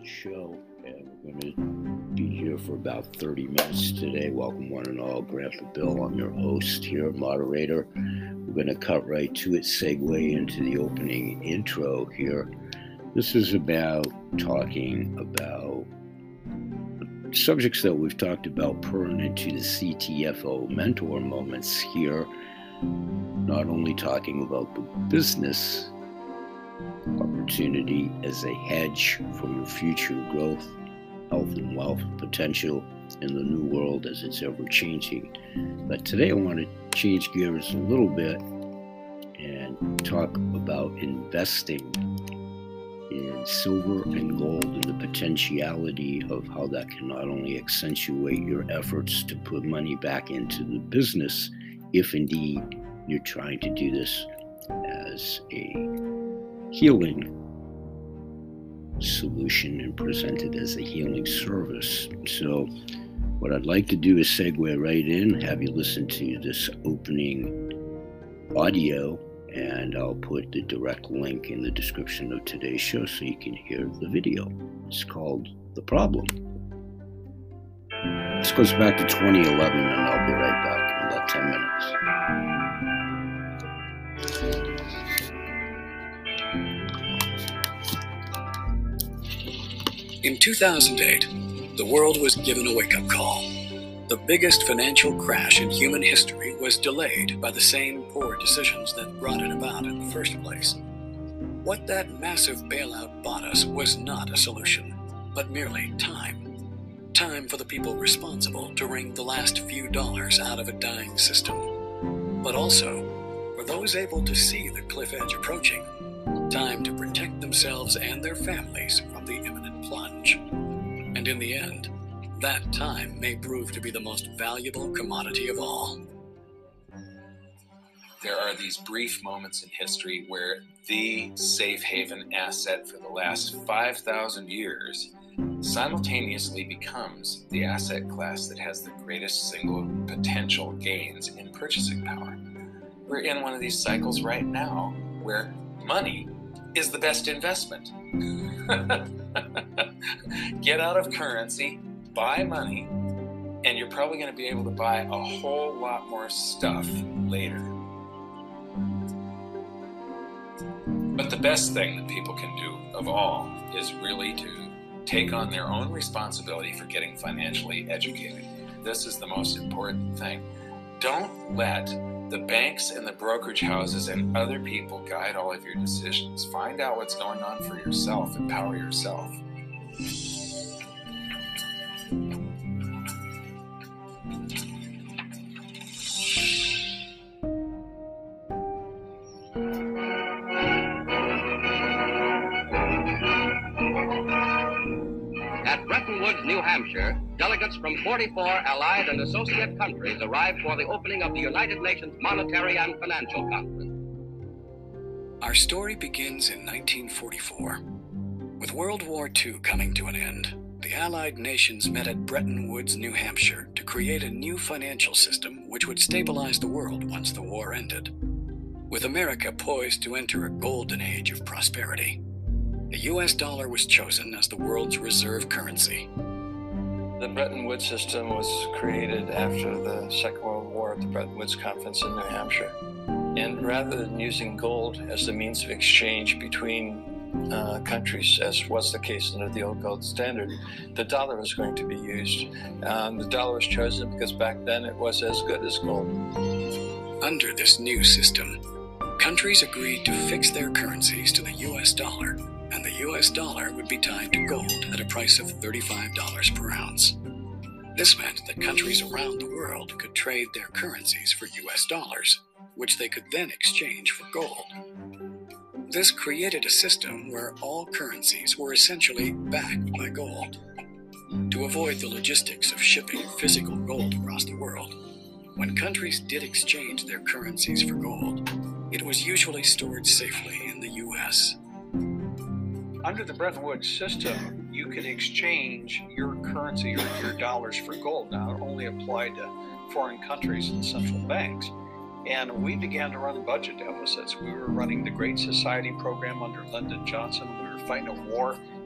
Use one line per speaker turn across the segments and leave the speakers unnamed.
show, and we're going to be here for about 30 minutes today. Welcome, one and all. Grandpa Bill, I'm your host here, moderator. We're going to cut right to it, segue into the opening intro here. This is about talking about subjects that we've talked about pertinent to the CTFO mentor moments here. Not only talking about the business opportunity as a hedge for your future growth, health, and wealth potential in the new world as it's ever changing. But today I want to change gears a little bit and talk about investing in silver and gold and the potentiality of how that can not only accentuate your efforts to put money back into the business, if indeed you're trying to do this as a healing solution and present it as a healing service. So what I'd like to do is segue right in, have you listen to this opening audio, and I'll put the direct link in the description of today's show so you can hear the video. It's called The Problem. This goes back to 2011, and I'll be right back in about 10 minutes.
In 2008, the world was given a wake-up call. The biggest financial crash in human history was delayed by the same poor decisions that brought it about in the first place. What that massive bailout bought us was not a solution, but merely time. Time for the people responsible to wring the last few dollars out of a dying system. But also, for those able to see the cliff edge approaching, time to protect themselves and their families from the imminent plunge. And in the end, that time may prove to be the most valuable commodity of all.
There are these brief moments in history where the safe haven asset for the last 5,000 years simultaneously becomes the asset class that has the greatest single potential gains in purchasing power. We're in one of these cycles right now where money is the best investment. Get out of currency, buy money, and you're probably going to be able to buy a whole lot more stuff later. But the best thing that people can do of all is really to take on their own responsibility for getting financially educated. This is the most important thing. Don't let the banks and the brokerage houses and other people guide all of your decisions. Find out what's going on for yourself. Empower yourself.
At Bretton Woods, New Hampshire, delegates from 44 allied and associate countries arrived for the opening of the United Nations Monetary and Financial Conference.
Our story begins in 1944. With World War II coming to an end, the Allied nations met at Bretton Woods, New Hampshire, to create a new financial system which would stabilize the world once the war ended. With America poised to enter a golden age of prosperity, the US dollar was chosen as the world's reserve currency.
The Bretton Woods system was created after the Second World War at the Bretton Woods Conference in New Hampshire. And rather than using gold as the means of exchange between countries, as was the case under the old gold standard, the dollar was going to be used. The dollar was chosen because back then it was as good as gold.
Under this new system, countries agreed to fix their currencies to the US dollar, and the US dollar would be tied to gold at a price of $35 per ounce. This meant that countries around the world could trade their currencies for US dollars, which they could then exchange for gold. This created a system where all currencies were essentially backed by gold. To avoid the logistics of shipping physical gold across the world, when countries did exchange their currencies for gold, it was usually stored safely in the US.
Under the Bretton Woods system, you could exchange your currency or your dollars for gold. Now, it only applied to foreign countries and central banks. And we began to run budget deficits. We were running the Great Society program under Lyndon Johnson. We were fighting a war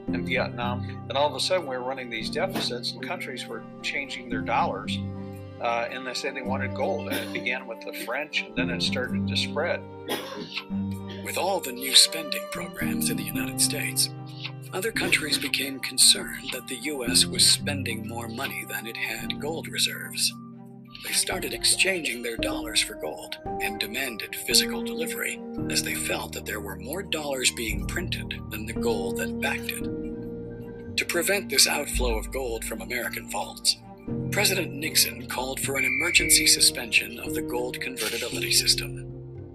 and Vietnam. And all of a sudden, we were running these deficits, and countries were changing their dollars. And they said they wanted gold. And it began with the French, and then it started to spread.
With all the new spending programs in the United States, other countries became concerned that the U.S. was spending more money than it had gold reserves. They started exchanging their dollars for gold and demanded physical delivery, as they felt that there were more dollars being printed than the gold that backed it. To prevent this outflow of gold from American vaults, President Nixon called for an emergency suspension of the gold convertibility system.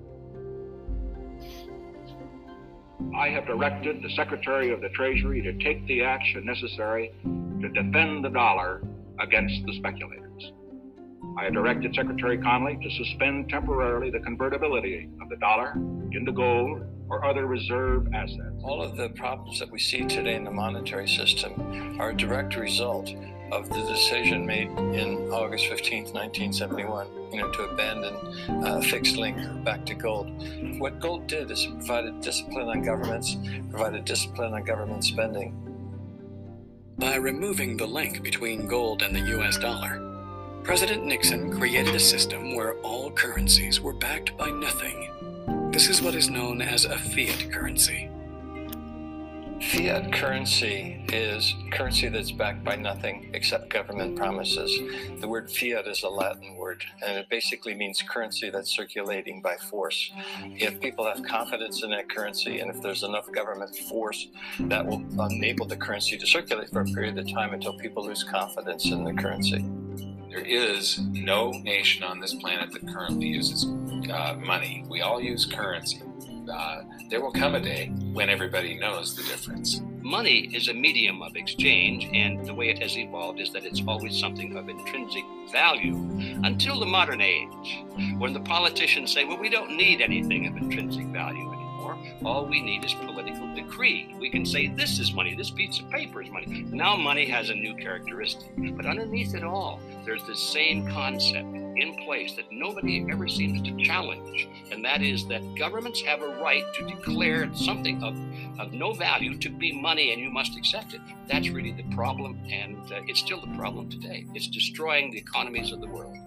I have directed the Secretary of the Treasury to take the action necessary to defend the dollar against the speculators. I have directed Secretary Connally to suspend temporarily the convertibility of the dollar into gold or other reserve assets.
All of the problems that we see today in the monetary system are a direct result of the decision made in August 15th, 1971, to abandon fixed link back to gold. What gold did is it provided discipline on governments, provided discipline on government spending.
By removing the link between gold and the US dollar, President Nixon created a system where all currencies were backed by nothing. This is what is known as a fiat currency.
Fiat currency is currency that's backed by nothing except government promises. The word fiat is a Latin word, and it basically means currency that's circulating by force. If people have confidence in that currency, and if there's enough government force, that will enable the currency to circulate for a period of time until people lose confidence in the currency.
There is no nation on this planet that currently uses money. We all use currency. There will come a day when everybody knows the difference.
Money is a medium of exchange, and the way it has evolved is that it's always something of intrinsic value until the modern age, when the politicians say, well, we don't need anything of intrinsic value anymore. All we need is political decree. We can say this is money, this piece of paper is money. Now money has a new characteristic, but underneath it all, there's this same concept in place that nobody ever seems to challenge, and that is that governments have a right to declare something of no value to be money, and you must accept it. That's really the problem, and it's still the problem today. It's destroying the economies of the world.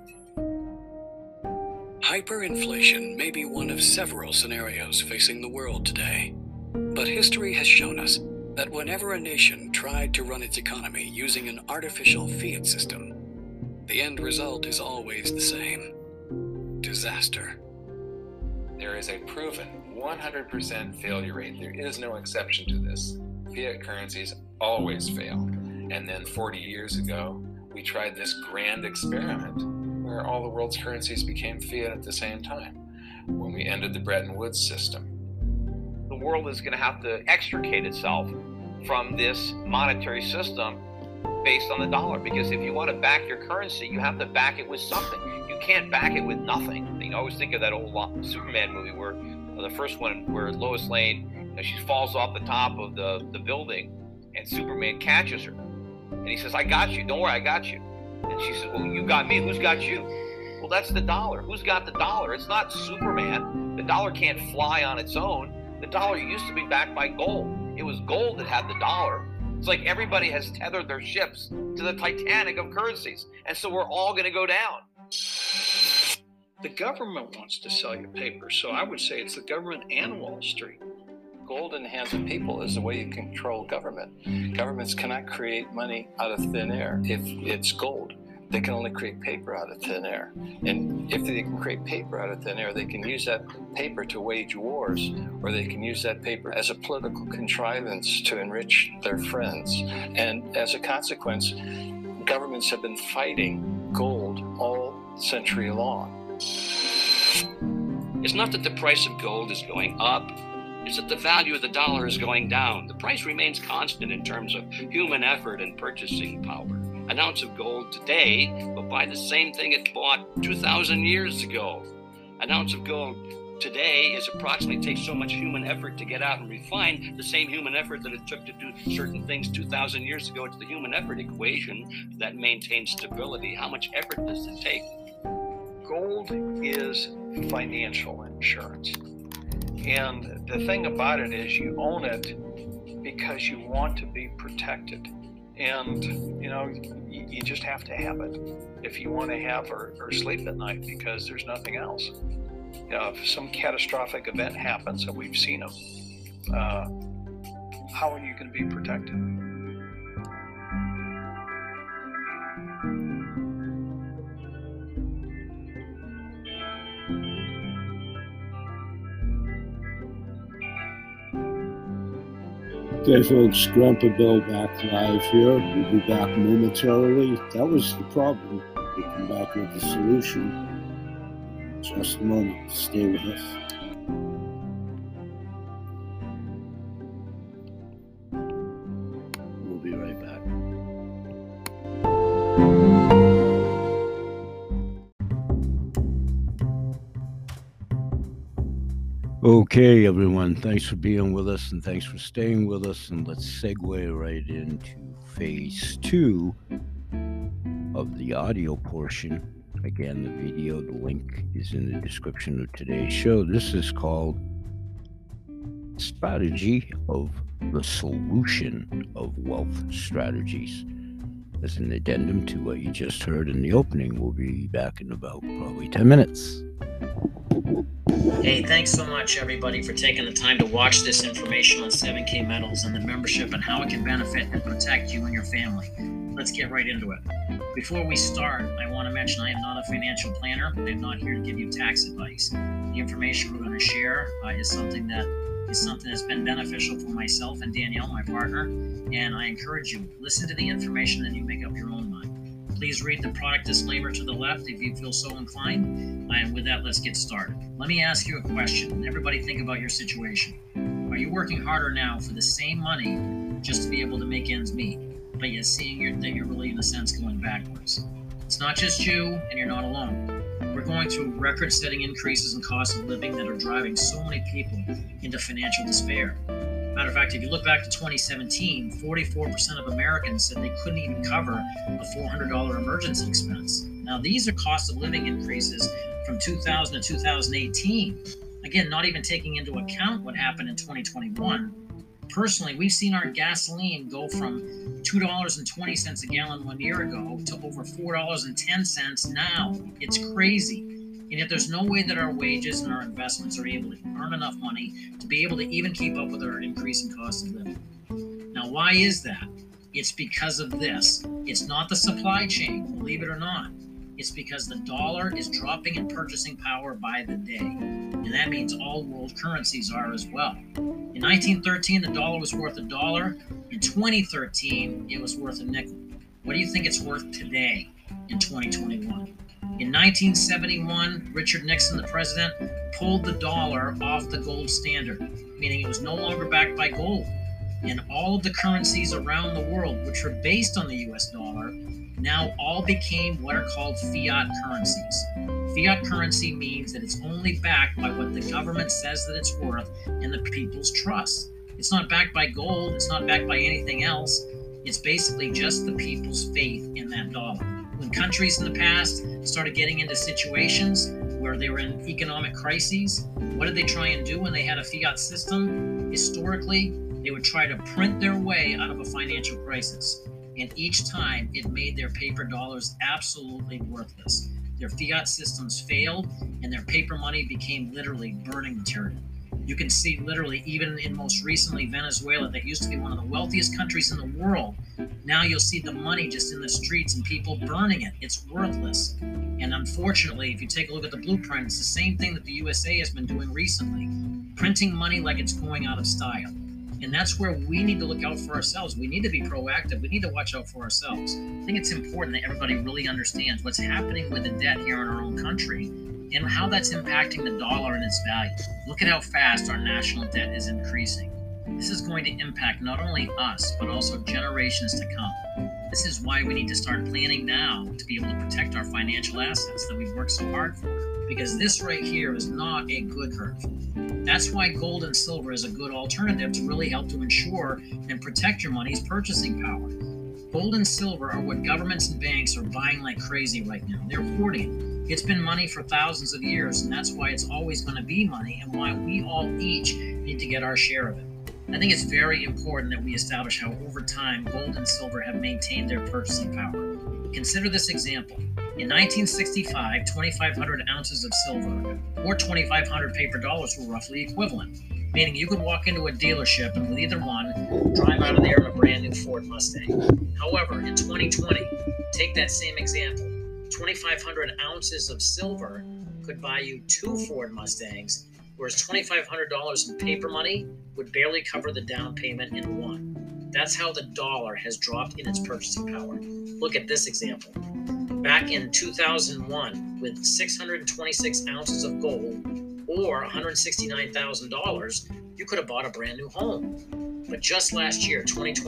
Hyperinflation may be one of several scenarios facing the world today, but history has shown us that whenever a nation tried to run its economy using an artificial fiat system, the end result is always the same: disaster.
There is a proven 100% failure rate. There is no exception to this. Fiat currencies always fail. And then 40 years ago, we tried this grand experiment where all the world's currencies became fiat at the same time, when we ended the Bretton Woods system.
The world is going to have to extricate itself from this monetary system based on the dollar, because if you want to back your currency, you have to back it with something. You can't back it with nothing. I always think of that old Superman movie where the first one where Lois Lane, she falls off the top of the building and Superman catches her. And he says, I got you. Don't worry, I got you. And she says, well, you got me. Who's got you? Well, that's the dollar. Who's got the dollar? It's not Superman. The dollar can't fly on its own. The dollar used to be backed by gold. It was gold that had the dollar. It's like everybody has tethered their ships to the Titanic of currencies. And so we're all going to go down.
The government wants to sell you paper, so I would say it's the government and Wall Street.
Gold in the hands of people is the way you control government. Governments cannot create money out of thin air if it's gold. They can only create paper out of thin air. And if they can create paper out of thin air, they can use that paper to wage wars, or they can use that paper as a political contrivance to enrich their friends. And as a consequence, governments have been fighting gold all century long.
It's not that the price of gold is going up, it's that the value of the dollar is going down. The price remains constant in terms of human effort and purchasing power. An ounce of gold today will buy the same thing it bought 2,000 years ago. An ounce of gold today takes so much human effort to get out and refine the same human effort that it took to do certain things 2,000 years ago. It's the human effort equation that maintains stability. How much effort does it take?
Gold is financial insurance. And the thing about it is you own it because you want to be protected. And, you just have to have it if you want to have or sleep at night, because there's nothing else. If some catastrophic event happens, and we've seen them, how are you going to be protected?
Okay, folks, Grandpa Bill back live here. We'll be back momentarily. That was the problem. We'll come back with the solution. Just a moment. Stay with us. We'll be right back. Okay, everyone, thanks for being with us and thanks for staying with us. And let's segue right into phase 2 of the audio portion. Again, the video, the link is in the description of today's show. This is called Strategy of the Solution of Wealth Strategies. As an addendum to what you just heard in the opening, we'll be back in about probably 10 minutes.
Hey, thanks so much, everybody, for taking the time to watch this information on 7K Metals and the membership and how it can benefit and protect you and your family. Let's get right into it. Before we start, I want to mention I am not a financial planner. I am not here to give you tax advice. The information we're going to share is something that's been beneficial for myself and Danielle, my partner, and I encourage you, listen to the information and you make up your own mind. Please read the product disclaimer to the left if you feel so inclined. And with that, let's get started. Let me ask you a question. Everybody think about your situation. Are you working harder now for the same money just to be able to make ends meet, but yet seeing that you're really, in a sense, going backwards? It's not just you, and you're not alone. We're going through record-setting increases in cost of living that are driving so many people into financial despair. Matter of fact, if you look back to 2017, 44% of Americans said they couldn't even cover a $400 emergency expense. Now, these are cost of living increases from 2000 to 2018. Again, not even taking into account what happened in 2021. Personally, we've seen our gasoline go from $2.20 a gallon 1 year ago to over $4.10 now. It's crazy. And yet there's no way that our wages and our investments are able to earn enough money to be able to even keep up with our increasing cost of living. Now, why is that? It's because of this. It's not the supply chain, believe it or not. It's because the dollar is dropping in purchasing power by the day. And that means all world currencies are as well. In 1913, the dollar was worth $1. In 2013, it was worth a nickel. What do you think it's worth today in 2021? In 1971, Richard Nixon, the president, pulled the dollar off the gold standard, meaning it was no longer backed by gold. And all of the currencies around the world, which were based on the US dollar, now all became what are called fiat currencies. Fiat currency means that it's only backed by what the government says that it's worth and the people's trust. It's not backed by gold. It's not backed by anything else. It's basically just the people's faith in that dollar. When countries in the past started getting into situations where they were in economic crises, what did they try and do when they had a fiat system? Historically, they would try to print their way out of a financial crisis. And each time it made their paper dollars absolutely worthless. Their fiat systems failed and their paper money became literally burning material. You can see literally even in most recently Venezuela, that used to be one of the wealthiest countries in the world. Now you'll see the money just in the streets and people burning it. It's worthless. And unfortunately, if you take a look at the blueprint, it's the same thing that the USA has been doing recently, printing money like it's going out of style. And that's where we need to look out for ourselves. We need to be proactive. We need to watch out for ourselves. I think it's important that everybody really understands what's happening with the debt here in our own country and how that's impacting the dollar and its value. Look at how fast our national debt is increasing. This is going to impact not only us, but also generations to come. This is why we need to start planning now to be able to protect our financial assets that we've worked so hard for. Because this right here is not a good curve. That's why gold and silver is a good alternative to really help to ensure and protect your money's purchasing power. Gold and silver are what governments and banks are buying like crazy right now. They're hoarding. It's been money for thousands of years, and that's why it's always going to be money and why we all each need to get our share of it. I think it's very important that we establish how over time gold and silver have maintained their purchasing power. Consider this example. In 1965, 2,500 ounces of silver or 2,500 paper dollars were roughly equivalent, meaning you could walk into a dealership and with either one, drive out of there in a brand new Ford Mustang. However, in 2020, take that same example, 2,500 ounces of silver could buy you 2 Ford Mustangs, whereas $2,500 in paper money would barely cover the down payment in one. That's how the dollar has dropped in its purchasing power. Look at this example. Back in 2001, with 626 ounces of gold or $169,000, you could have bought a brand new home. But just last year,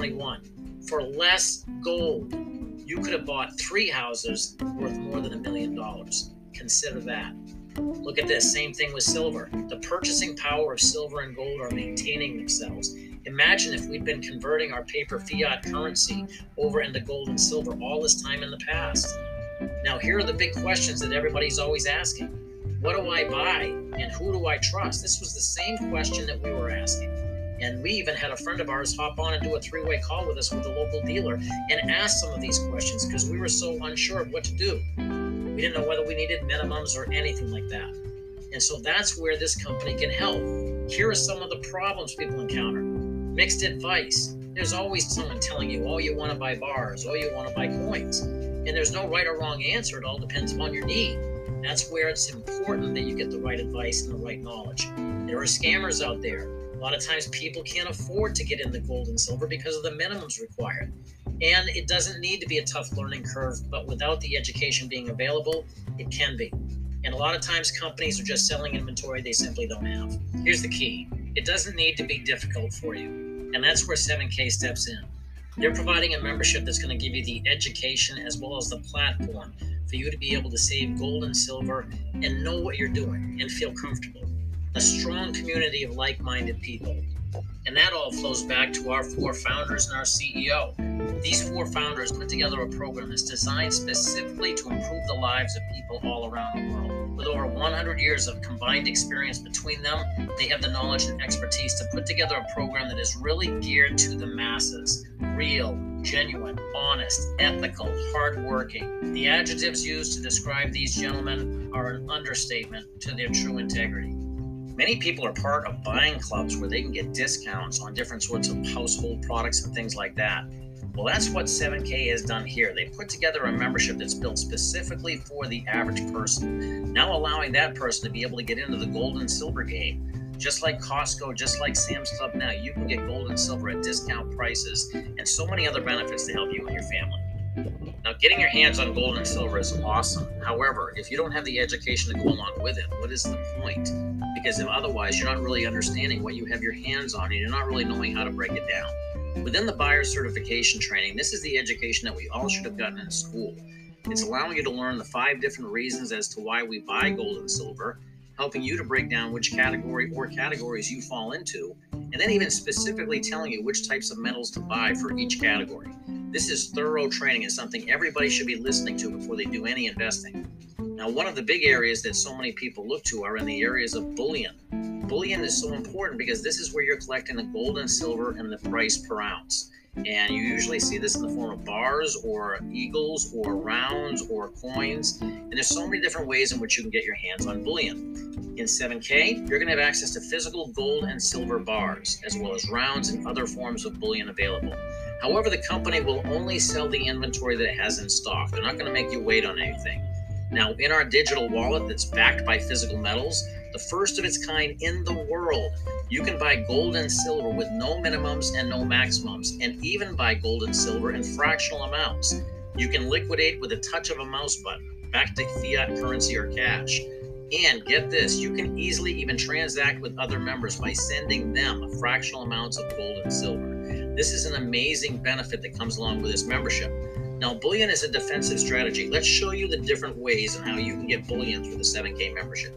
2021, for less gold, you could have bought 3 houses worth more than $1 million. Consider that. Look at this, same thing with silver. The purchasing power of silver and gold are maintaining themselves. Imagine if we'd been converting our paper fiat currency over into gold and silver all this time in the past. Now, here are the big questions that everybody's always asking. What do I buy and who do I trust? This was the same question that we were asking. And we even had a friend of ours hop on and do a 3-way call with us with a local dealer and ask some of these questions because we were so unsure of what to do. We didn't know whether we needed minimums or anything like that. And so that's where this company can help. Here are some of the problems people encounter. Mixed advice. There's always someone telling you, oh, you want to buy bars, oh, you want to buy coins. And there's no right or wrong answer. It all depends upon your need. That's where it's important that you get the right advice and the right knowledge. There are scammers out there. A lot of times people can't afford to get into gold and silver because of the minimums required. And it doesn't need to be a tough learning curve, but without the education being available, it can be. And a lot of times companies are just selling inventory they simply don't have. Here's the key. It doesn't need to be difficult for you. And that's where 7K steps in. They're providing a membership that's going to give you the education as well as the platform for you to be able to save gold and silver and know what you're doing and feel comfortable. A strong community of like-minded people. And that all flows back to our 4 founders and our CEO. These 4 founders put together a program that's designed specifically to improve the lives of people all around the world. With over 100 years of combined experience between them, they have the knowledge and expertise to put together a program that is really geared to the masses. Real, genuine, honest, ethical, hardworking. The adjectives used to describe these gentlemen are an understatement to their true integrity. Many people are part of buying clubs where they can get discounts on different sorts of household products and things like that. Well, that's what 7K has done here. They put together a membership that's built specifically for the average person, now allowing that person to be able to get into the gold and silver game. Just like Costco, just like Sam's Club now, you can get gold and silver at discount prices and so many other benefits to help you and your family. Now, getting your hands on gold and silver is awesome. However, if you don't have the education to go along with it, what is the point? Because if otherwise, you're not really understanding what you have your hands on and you're not really knowing how to break it down. Within the buyer certification training, this is the education that we all should have gotten in school. It's allowing you to learn the 5 different reasons as to why we buy gold and silver, helping you to break down which category or categories you fall into, and then even specifically telling you which types of metals to buy for each category. This is thorough training and something everybody should be listening to before they do any investing. Now, one of the big areas that so many people look to are in the areas of bullion. Bullion is so important because this is where you're collecting the gold and silver and the price per ounce. And you usually see this in the form of bars or eagles or rounds or coins. And there's so many different ways in which you can get your hands on bullion. In 7K, you're going to have access to physical gold and silver bars, as well as rounds and other forms of bullion available. However, the company will only sell the inventory that it has in stock. They're not going to make you wait on anything. Now, in our digital wallet that's backed by physical metals, the first of its kind in the world, you can buy gold and silver with no minimums and no maximums, and even buy gold and silver in fractional amounts. You can liquidate with a touch of a mouse button, back to fiat currency or cash. And get this, you can easily even transact with other members by sending them fractional amounts of gold and silver. This is an amazing benefit that comes along with this membership. Now, bullion is a defensive strategy. Let's show you the different ways and how you can get bullion through the 7K membership.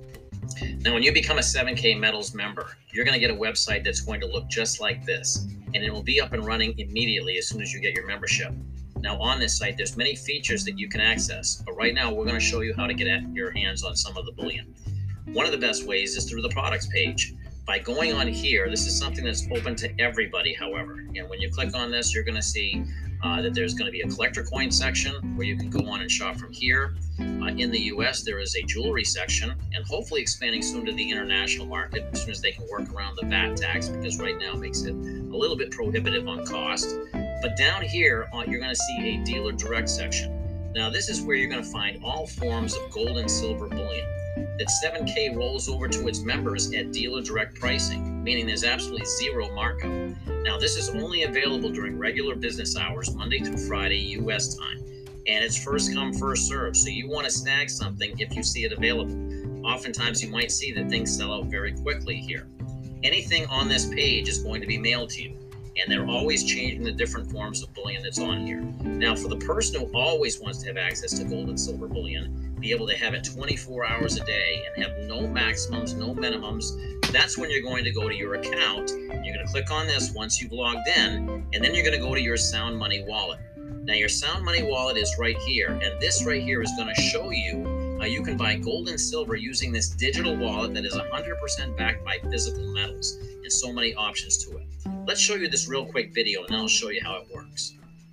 Now, when you become a 7K Metals member, you're going to get a website that's going to look just like this, and it will be up and running immediately as soon as you get your membership. Now, on this site, there's many features that you can access, but right now we're going to show you how to get your hands on some of the bullion. One of the best ways is through the products page. By going on here, this is something that's open to everybody, however. And when you click on this, you're going to see that there's going to be a collector coin section where you can go on and shop from here. In the US, there is a jewelry section, and hopefully expanding soon to the international market as soon as they can work around the VAT tax, because right now it makes it a little bit prohibitive on cost. But down here, you're going to see a dealer direct section. Now, this is where you're going to find all forms of gold and silver bullion that 7K rolls over to its members at dealer direct pricing, meaning there's absolutely zero markup. Now, this is only available during regular business hours, Monday through Friday, US time, and it's first come, first serve. So you want to snag something if you see it available. Oftentimes, you might see that things sell out very quickly here. Anything on this page is going to be mailed to you, and they're always changing the different forms of bullion that's on here. Now, for the person who always wants to have access to gold and silver bullion, be able to have it 24 hours a day and have no maximums, no minimums, that's when you're going to go to your account. You're going to click on this once you've logged in, and then you're going to go to your Sound Money wallet. Now, your Sound Money wallet is right here, and this right here is going to show you how you can buy gold and silver using this digital wallet that is 100% backed by physical metals, and so many options to it. Let's show you this real quick video, and then I'll show you how it works.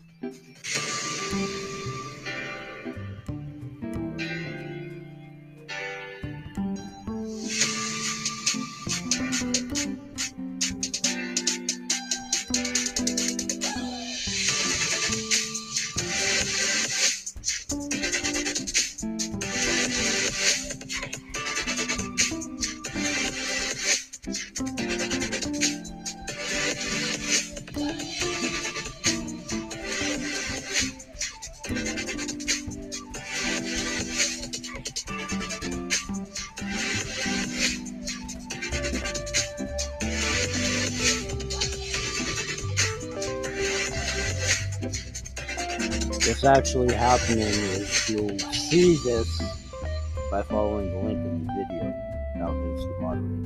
What's actually happening is you'll see this by following the link in the video. Now here's the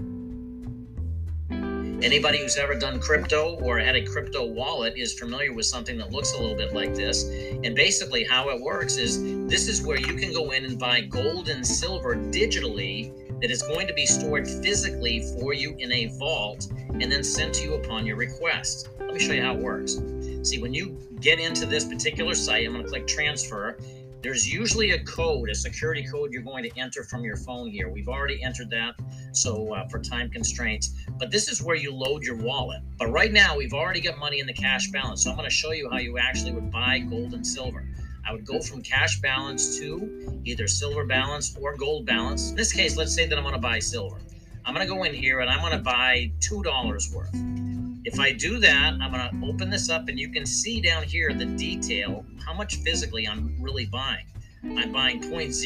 moderator.
Anybody who's ever done crypto or had a crypto wallet is familiar with something that looks a little bit like this. And basically how it works is this is where you can go in and buy gold and silver digitally that is going to be stored physically for you in a vault and then sent to you upon your request. Let me show you how it works. See, when you get into this particular site, I'm going to click transfer. There's usually a code, a security code you're going to enter from your phone here. We've already entered that, so for time constraints. But this is where you load your wallet. But right now, we've already got money in the cash balance, so I'm going to show you how you actually would buy gold and silver. I would go from cash balance to either silver balance or gold balance. In this case, let's say that I'm going to buy silver. I'm going to go in here and I'm going to buy $2 worth. If I do that, I'm going to open this up and you can see down here the detail, how much physically I'm really buying. I'm buying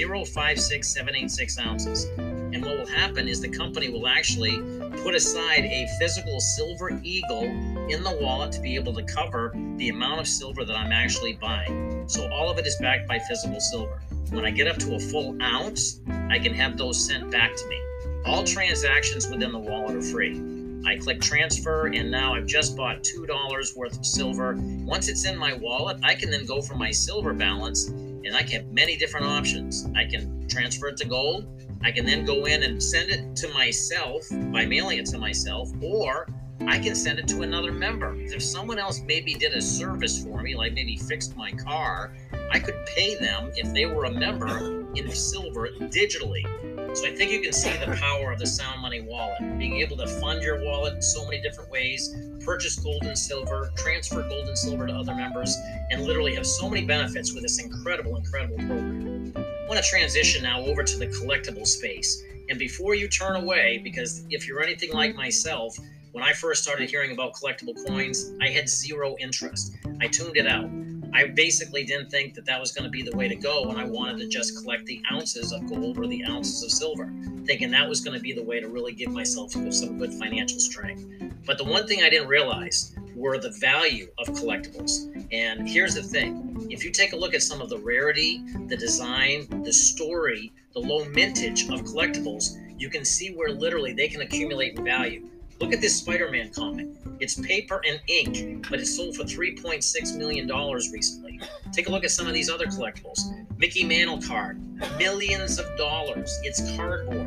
0.056786 ounces. And what will happen is the company will actually put aside a physical silver eagle in the wallet to be able to cover the amount of silver that I'm actually buying. So all of it is backed by physical silver. When I get up to a full ounce, I can have those sent back to me. All transactions within the wallet are free. I click transfer, and now I've just bought $2 worth of silver. Once it's in my wallet, I can then go for my silver balance, and I can have many different options. I can transfer it to gold. I can then go in and send it to myself by mailing it to myself, or I can send it to another member. If someone else maybe did a service for me, like maybe fixed my car, I could pay them if they were a member in silver digitally. So I think you can see the power of the Sound Money wallet, being able to fund your wallet in so many different ways, purchase gold and silver, transfer gold and silver to other members, and literally have so many benefits with this incredible, incredible program. I want to transition now over to the collectible space. And before you turn away, because if you're anything like myself, when I first started hearing about collectible coins, I had zero interest. I tuned it out. I basically didn't think that that was going to be the way to go, and I wanted to just collect the ounces of gold or the ounces of silver, thinking that was going to be the way to really give myself some good financial strength. But the one thing I didn't realize were the value of collectibles. And here's the thing. If you take a look at some of the rarity, the design, the story, the low mintage of collectibles, you can see where literally they can accumulate in value. Look at this Spider-Man comic. It's paper and ink, but it's sold for $3.6 million recently. Take a look at some of these other collectibles. Mickey Mantle card, millions of dollars. It's cardboard.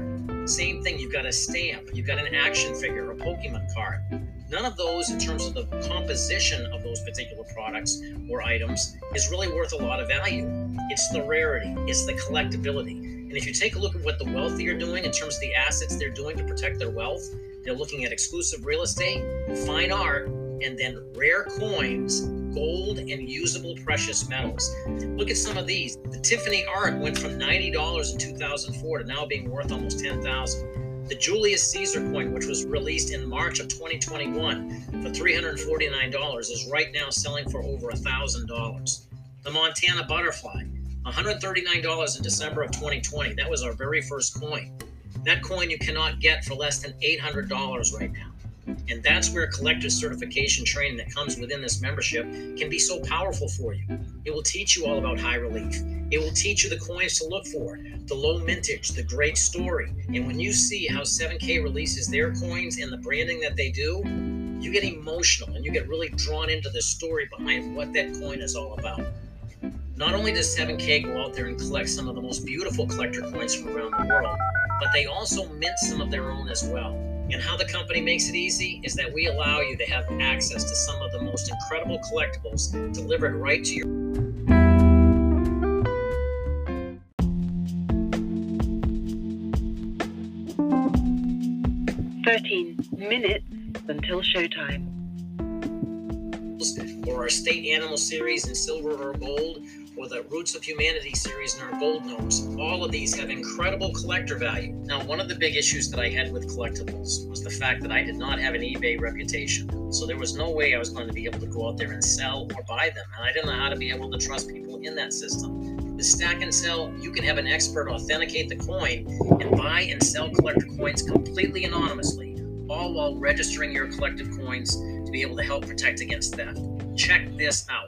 Same thing, you've got a stamp, you've got an action figure, a Pokemon card. None of those, in terms of the composition of those particular products or items, is really worth a lot of value. It's the rarity, it's the collectability. And if you take a look at what the wealthy are doing in terms of the assets they're doing to protect their wealth, they're looking at exclusive real estate, fine art, and then rare coins, gold, and usable precious metals. Look at some of these. The Tiffany art went from $90 in 2004 to now being worth almost $10,000. The Julius Caesar coin, which was released in March of 2021 for $349, is right now selling for over $1,000. The Montana butterfly, $139 in December of 2020. That was our very first coin. That coin you cannot get for less than $800 right now. And that's where collector's certification training that comes within this membership can be so powerful for you. It will teach you all about high relief. It will teach you the coins to look for, the low mintage, the great story. And when you see how 7K releases their coins and the branding that they do, you get emotional and you get really drawn into the story behind what that coin is all about. Not only does 7K go out there and collect some of the most beautiful collector coins from around the world, but they also mint some of their own as well. And how the company makes it easy is that we allow you to have access to some of the most incredible collectibles delivered right to your
13 minutes until showtime.
Or our State Animal series in silver or gold, or the Roots of Humanity series in our gold notes. All of these have incredible collector value. Now, one of the big issues that I had with collectibles was the fact that I did not have an eBay reputation. So there was no way I was going to be able to go out there and sell or buy them. And I didn't know how to be able to trust people in that system. With Stack and Sell, you can have an expert authenticate the coin and buy and sell collector coins completely anonymously, all while registering your collective coins to be able to help protect against theft. Check this out.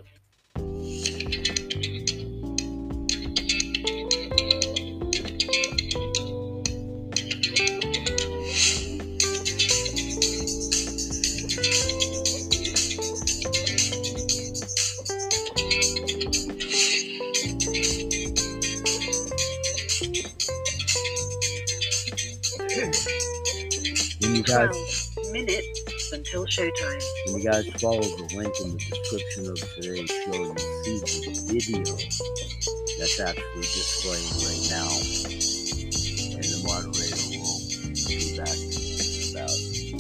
When you guys
12 minutes until showtime.
When you guys follow the link in the description of today's show, you'll see the video that's actually displaying right now. And the moderator will be back in about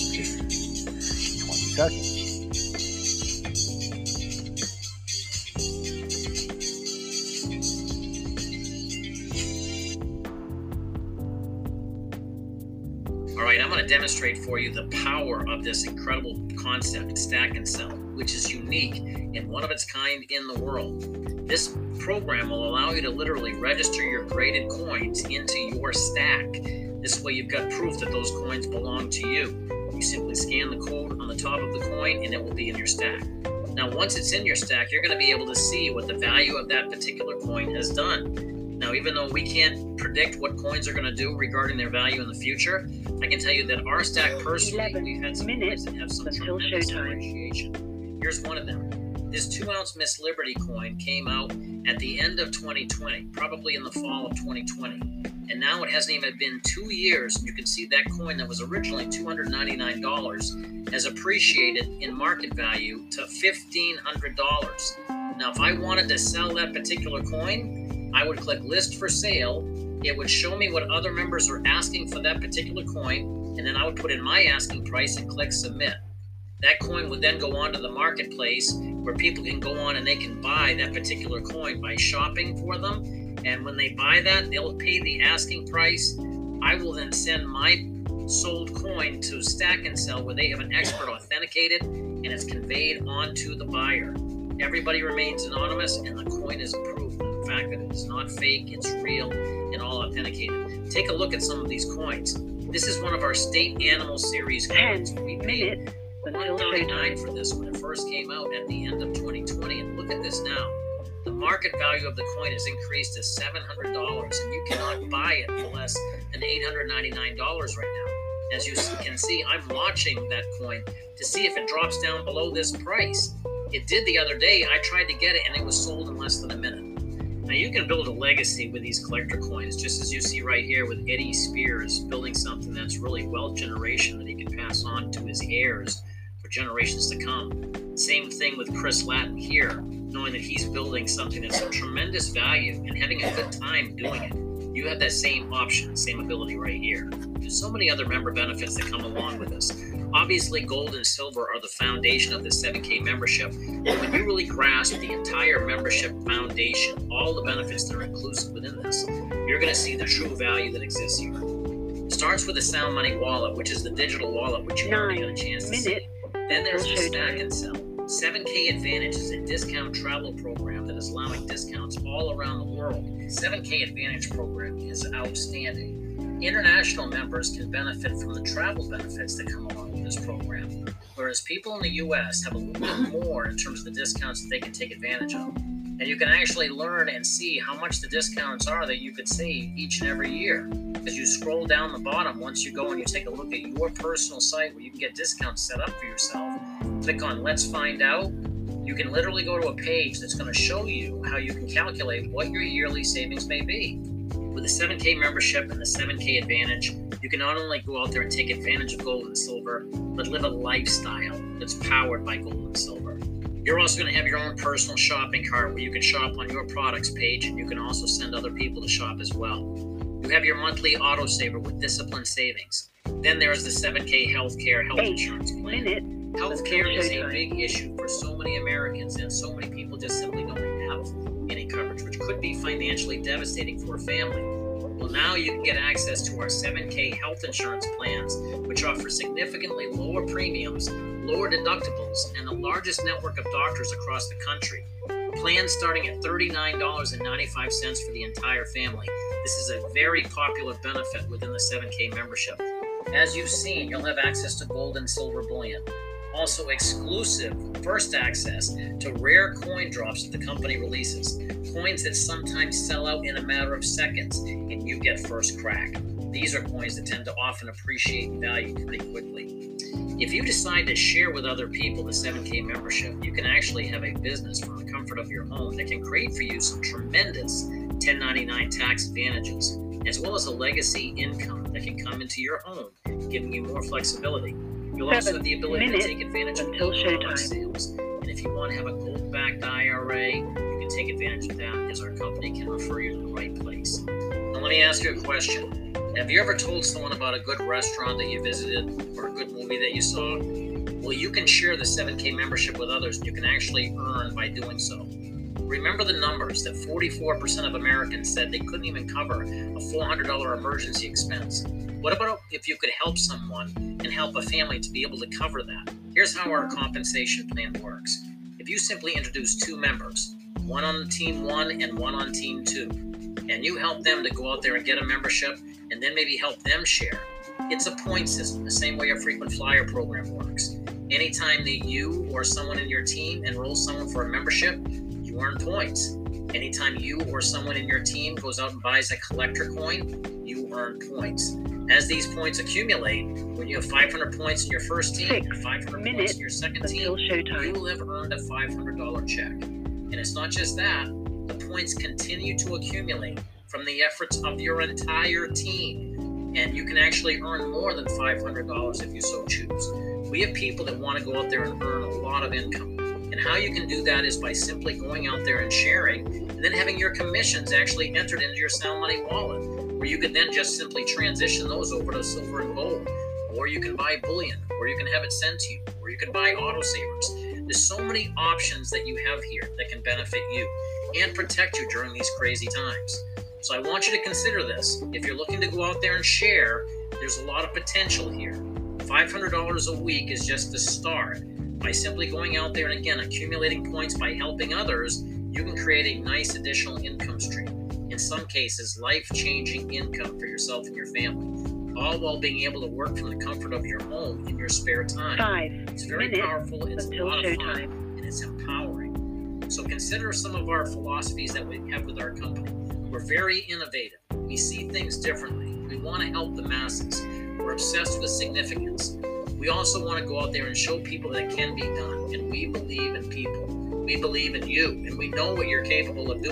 20 seconds.
All right, I'm going to demonstrate for you the power of this incredible concept, Stack and Sell, which is unique and one of its kind in the world. This program will allow you to literally register your graded coins into your stack. This way you've got proof that those coins belong to you. You simply scan the code on the top of the coin and it will be in your stack. Now, once it's in your stack, you're going to be able to see what the value of that particular coin has done. Now, even though we can't predict what coins are going to do regarding their value in the future, I can tell you that our stack personally, we've had some coins that have some tremendous appreciation. Here's one of them. This 2-ounce Miss Liberty coin came out at the end of 2020, probably in the fall of 2020. And now it hasn't even been 2 years, and you can see that coin that was originally $299 has appreciated in market value to $1,500. Now, if I wanted to sell that particular coin, I would click list for sale. It would show me what other members are asking for that particular coin, and then I would put in my asking price and click submit. That coin would then go on to the marketplace where people can go on and they can buy that particular coin by shopping for them. And when they buy that, they'll pay the asking price. I will then send my sold coin to Stack and Sell where they have an expert authenticated and it's conveyed onto the buyer. Everybody remains anonymous and the coin is proof of the fact that it is not fake, it's real, and all authenticated. Take a look at some of these coins. This is one of our State Animal Series coins. We paid $139 for this when it first came out at the end of 2020, and look at this now. The market value of the coin has increased to $700, and you cannot buy it for less than $899 right now. As you can see, I'm watching that coin to see if it drops down below this price. It did the other day. I tried to get it, and it was sold in less than a minute. Now you can build a legacy with these collector coins, just as you see right here with Eddie Spears building something that's really wealth generation that he can pass on to his heirs for generations to come. Same thing with Chris Latin here, knowing that he's building something that's of tremendous value and having a good time doing it. You have that same option, same ability right here. There's so many other member benefits that come along with this. Obviously, gold and silver are the foundation of the 7K membership. But when you really grasp the entire membership foundation, all the benefits that are inclusive within this, you're going to see the true value that exists here. It starts with the Sound Money wallet, which is the digital wallet, which you already got a chance to see. Then there's the Stack and Sell. 7K Advantage is a discount travel program that is allowing discounts all around the world. 7K Advantage program is outstanding. International members can benefit from the travel benefits that come along with this program, whereas people in the U.S. have a little bit more in terms of the discounts that they can take advantage of. And you can actually learn and see how much the discounts are that you could save each and every year. As you scroll down the bottom, once you go and you take a look at your personal site where you can get discounts set up for yourself, click on Let's Find Out. You can literally go to a page that's going to show you how you can calculate what your yearly savings may be. With the 7K membership and the 7K Advantage, you can not only go out there and take advantage of gold and silver, but live a lifestyle that's powered by gold and silver. You're also going to have your own personal shopping cart where you can shop on your products page, and you can also send other people to shop as well. You have your monthly autosaver with disciplined savings. Then there's the 7K Healthcare Health Insurance Plan. Healthcare is a big issue for so many Americans, and so many people just simply don't have any coverage, which could be financially devastating for a family. Well, now you can get access to our 7K health insurance plans, which offer significantly lower premiums, lower deductibles, and the largest network of doctors across the country. Plans starting at $39.95 for the entire family. This is a very popular benefit within the 7K membership. As you've seen, you'll have access to gold and silver bullion. Also exclusive first access to rare coin drops that the company releases. Coins that sometimes sell out in a matter of seconds and you get first crack. These are coins that tend to often appreciate in value pretty quickly. If you decide to share with other people the 7K membership, you can actually have a business from the comfort of your home that can create for you some tremendous 1099 tax advantages, as well as a legacy income that can come into your home, giving you more flexibility. You'll also have the ability to take advantage of $8 sales. And if you want to have a gold-backed IRA, you can take advantage of that, as our company can refer you to the right place. Now let me ask you a question. Have you ever told someone about a good restaurant that you visited or a good movie that you saw? Well, you can share the 7K membership with others, and you can actually earn by doing so. Remember the numbers that 44% of Americans said they couldn't even cover a $400 emergency expense. What about if you could help someone and help a family to be able to cover that? Here's how our compensation plan works. If you simply introduce two members, one on team 1 and one on team 2, and you help them to go out there and get a membership and then maybe help them share, it's a point system, the same way a frequent flyer program works. Anytime that you or someone in your team enrolls someone for a membership, you earn points. Anytime you or someone in your team goes out and buys a collector coin, you earn points. As these points accumulate, when you have 500 points in your first team and 500 points in your second team, you will have earned a $500 check. And it's not just that, the points continue to accumulate from the efforts of your entire team. And you can actually earn more than $500 if you so choose. We have people that want to go out there and earn a lot of income. And how you can do that is by simply going out there and sharing, and then having your commissions actually entered into your Sound Money wallet, where you can then just simply transition those over to silver and gold. Or you can buy bullion, or you can have it sent to you, or you can buy autosavers. There's so many options that you have here that can benefit you and protect you during these crazy times. So I want you to consider this. If you're looking to go out there and share, there's a lot of potential here. $500 a week is just the start. By simply going out there and again accumulating points by helping others, you can create a nice additional income stream. In some cases, life-changing income for yourself and your family, all while being able to work from the comfort of your home in your spare time. It's very powerful, it's a lot of fun, and it's empowering. So consider some of our philosophies that we have with our company. We're very innovative. We see things differently. We want to help the masses. We're obsessed with significance. We also want to go out there and show people that it can be done, and we believe in people. We believe in you, and we know what you're capable of doing.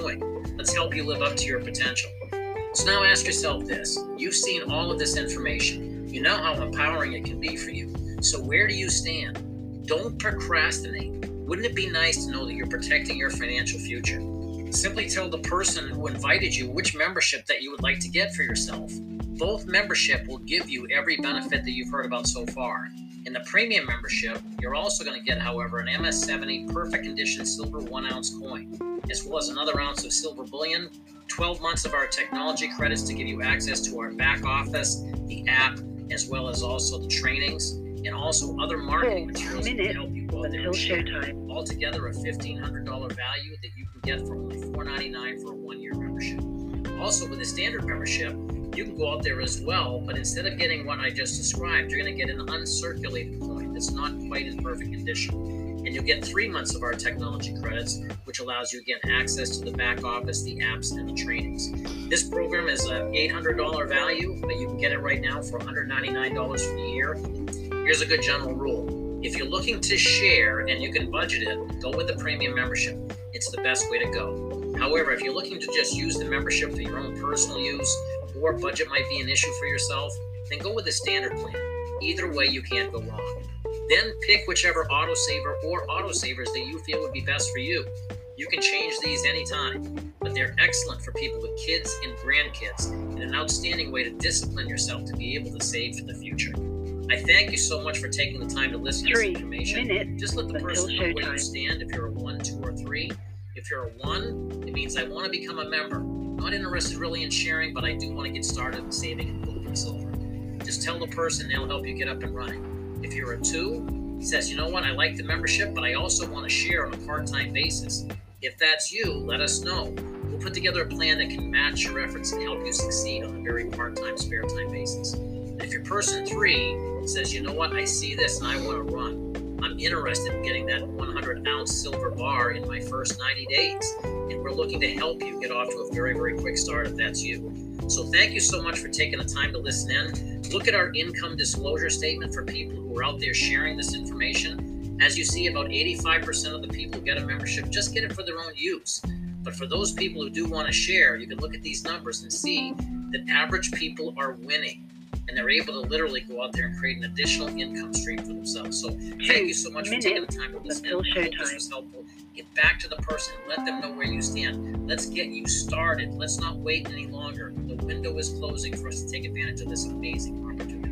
Let's help you live up to your potential. So now ask yourself this. You've seen all of this information. You know how empowering it can be for you. So where do you stand? Don't procrastinate. Wouldn't it be nice to know that you're protecting your financial future? Simply tell the person who invited you which membership that you would like to get for yourself. Both membership will give you every benefit that you've heard about so far. In the premium membership, you're also going to get, however, an MS70 perfect condition silver 1-ounce coin, as well as another ounce of silver bullion, 12 months of our technology credits to give you access to our back office, the app, as well as also the trainings, and also other marketing materials to help you go out there and share. Altogether, a $1,500 value that you can get for only $4.99 for a 1-year membership. Also, with the standard membership, you can go out there as well, but instead of getting what I just described, you're going to get an uncirculated coin that's not quite in perfect condition. And you'll get 3 months of our technology credits, which allows you again access to the back office, the apps, and the trainings. This program is an $800 value, but you can get it right now for $199 for the year. Here's a good general rule. If you're looking to share and you can budget it, go with the premium membership. It's the best way to go. However, if you're looking to just use the membership for your own personal use, or budget might be an issue for yourself, then go with the standard plan. Either way, you can't go wrong. Then pick whichever autosaver or autosavers that you feel would be best for you. You can change these anytime, but they're excellent for people with kids and grandkids, and an outstanding way to discipline yourself to be able to save for the future. I thank you so much for taking the time to listen to this information. Just let the person know where you stand, if you're a 1, 2, or 3. If you're a 1, it means I want to become a member. Not interested really in sharing, but I do want to get started in saving and building silver. Just tell the person, they'll help you get up and running. If you're a 2, it says, you know what, I like the membership, but I also want to share on a part-time basis. If that's you, let us know. We'll put together a plan that can match your efforts and help you succeed on a very part-time, spare-time basis. And if you're person 3, says, you know what, I see this and I want to run. I'm interested in getting that 100-ounce silver bar in my first 90 days. And we're looking to help you get off to a very, very quick start if that's you. So thank you so much for taking the time to listen in. Look at our income disclosure statement for people who are out there sharing this information. As you see, about 85% of the people who get a membership just get it for their own use. But for those people who do want to share, you can look at these numbers and see that average people are winning. And they're able to literally go out there and create an additional income stream for themselves. So thank you so much for taking the time to listen. I hope this was helpful. Get back to the person. Let them know where you stand. Let's get you started. Let's not wait any longer. The window is closing for us to take advantage of this amazing opportunity.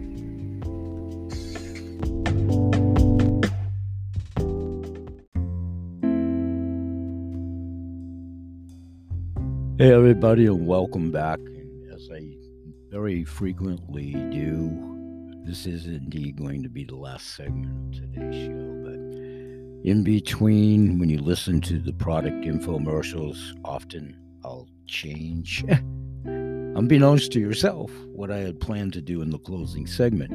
Hey everybody, and welcome back. As I very frequently do, this is indeed going to be the last segment of today's show, but in between, when you listen to the product infomercials, often I'll change, unbeknownst to yourself, what I had planned to do in the closing segment.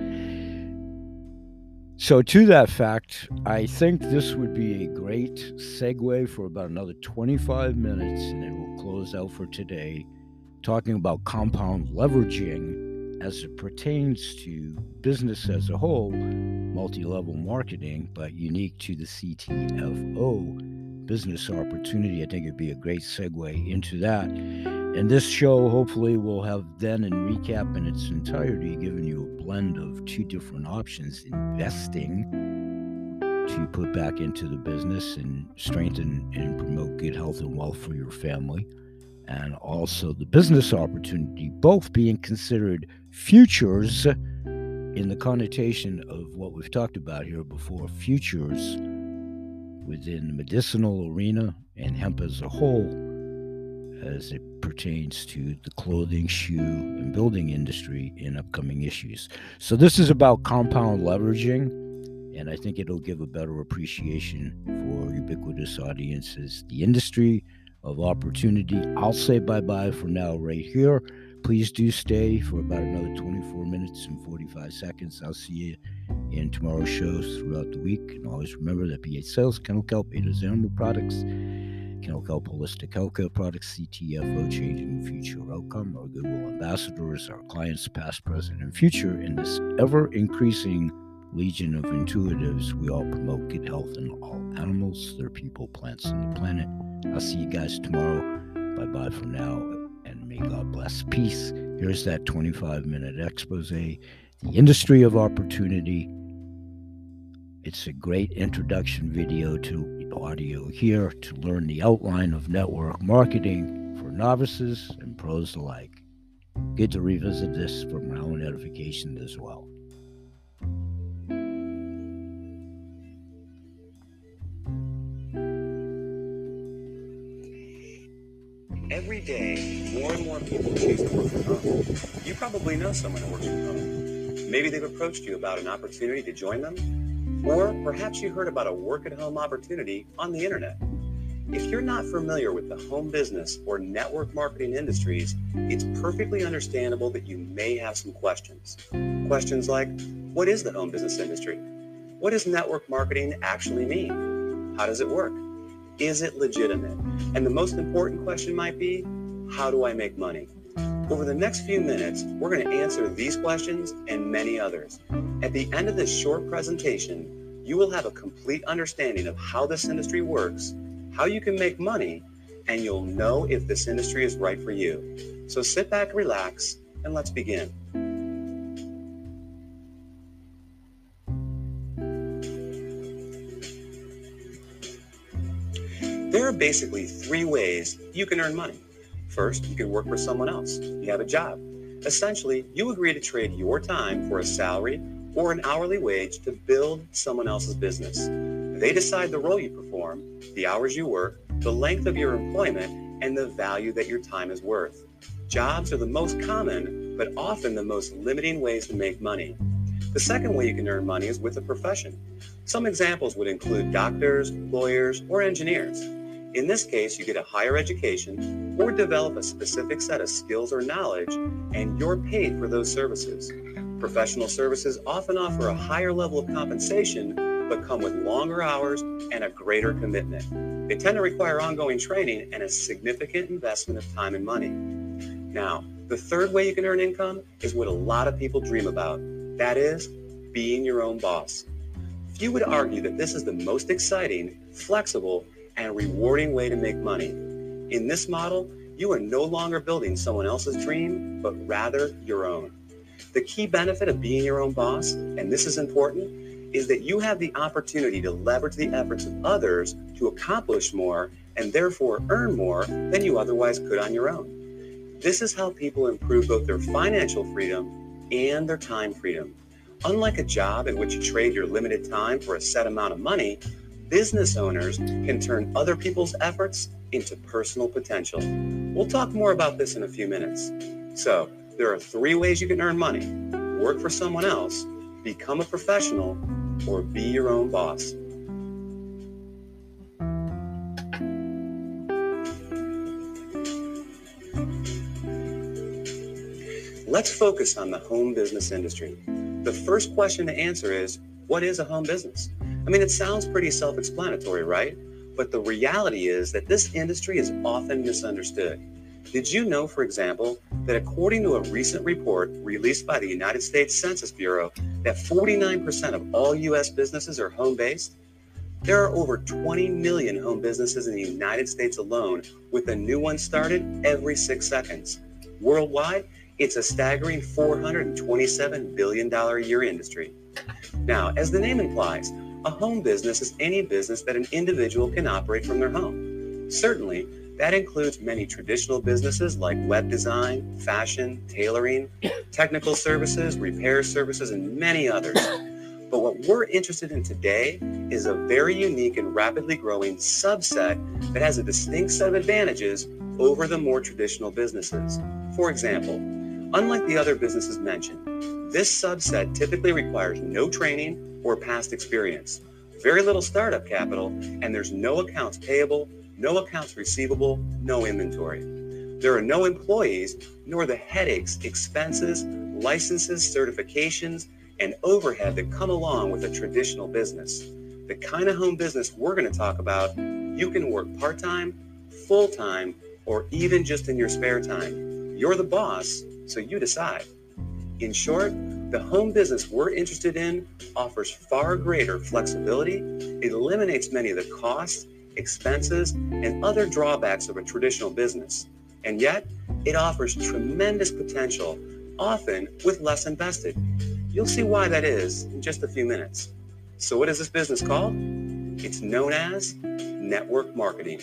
So to that fact, I think this would be a great segue for about another 25 minutes, and then we'll close out for today, talking about compound leveraging as it pertains to business as a whole, multi-level marketing, but unique to the CTFO business opportunity. I think it'd be a great segue into that. And this show hopefully will have then in recap in its entirety given you a blend of 2 different options: investing to put back into the business and strengthen and promote good health and wealth for your family, and also the business opportunity, both being considered futures in the connotation of what we've talked about here before, futures within the medicinal arena and hemp as a whole, as it pertains to the clothing, shoe, and building industry in upcoming issues. So this is about compound leveraging, and I think it'll give a better appreciation for ubiquitous audiences, the industry of opportunity. I'll say bye-bye for now right here. Please do stay for about another 24 minutes and 45 seconds. I'll see you in tomorrow's shows throughout the week. And always remember that PH Sales, Kennel Kelp, Ada's Animal Products, Kennel Kelp Holistic Healthcare Products, CTFO, Changing the Future Outcome, our Goodwill Ambassadors, our clients past, present, and future. In this ever-increasing legion of intuitives, we all promote good health in all animals, their people, plants, and the planet. I'll see you guys tomorrow. Bye-bye for now, and may God bless. Peace. Here's that 25-minute expose, the industry of opportunity. It's a great introduction video to audio here to learn the outline of network marketing for novices and pros alike. Good to revisit this for my own edification as well.
Every day, more and more people choose to work from home. You probably know someone who works from home. Maybe they've approached you about an opportunity to join them, or perhaps you heard about a work-at-home opportunity on the internet. If you're not familiar with the home business or network marketing industries, it's perfectly understandable that you may have some questions. Questions like, what is the home business industry? What does network marketing actually mean? How does it work? Is it legitimate? And the most important question might be, how do I make money? Over the next few minutes, we're going to answer these questions and many others. At the end of this short presentation, you will have a complete understanding of how this industry works, how you can make money, and you'll know if this industry is right for you. So sit back, relax, and let's begin. There are basically three ways you can earn money. First, you can work for someone else. You have a job. Essentially, you agree to trade your time for a salary or an hourly wage to build someone else's business. They decide the role you perform, the hours you work, the length of your employment, and the value that your time is worth. Jobs are the most common, but often the most limiting ways to make money. The second way you can earn money is with a profession. Some examples would include doctors, lawyers, or engineers. In this case, you get a higher education or develop a specific set of skills or knowledge, and you're paid for those services. Professional services often offer a higher level of compensation, but come with longer hours and a greater commitment. They tend to require ongoing training and a significant investment of time and money. Now, the third way you can earn income is what a lot of people dream about. That is, being your own boss. Few would argue that this is the most exciting, flexible, and rewarding way to make money. In this model, you are no longer building someone else's dream, but rather your own. The key benefit of being your own boss, and this is important, is that you have the opportunity to leverage the efforts of others to accomplish more and therefore earn more than you otherwise could on your own. This is how people improve both their financial freedom and their time freedom. Unlike a job in which you trade your limited time for a set amount of money, business owners can turn other people's efforts into personal potential. We'll talk more about this in a few minutes. So, there are three ways you can earn money: work for someone else, become a professional, or be your own boss. Let's focus on the home business industry. The first question to answer is, what is a home business? I mean, it sounds pretty self-explanatory, right? But the reality is that this industry is often misunderstood. Did you know, for example, that according to a recent report released by the United States Census Bureau, that 49% of all U.S. businesses are home-based? There are over 20 million home businesses in the United States alone, with a new one started every 6 seconds. Worldwide, it's a staggering $427 billion a year industry. Now, as the name implies, a home business is any business that an individual can operate from their home. Certainly, that includes many traditional businesses like web design, fashion, tailoring, technical services, repair services, and many others. But what we're interested in today is a very unique and rapidly growing subset that has a distinct set of advantages over the more traditional businesses. For example, unlike the other businesses mentioned, this subset typically requires no training or past experience, very little startup capital, and there's no accounts payable, no accounts receivable, no inventory. There are no employees, nor the headaches, expenses, licenses, certifications, and overhead that come along with a traditional business. The kind of home business we're going to talk about, you can work part-time, full-time, or even just in your spare time. You're the boss, so you decide. In short, the home business we're interested in offers far greater flexibility, it eliminates many of the costs, expenses, and other drawbacks of a traditional business. And yet, it offers tremendous potential, often with less invested. You'll see why that is in just a few minutes. So what is this business called? It's known as network marketing.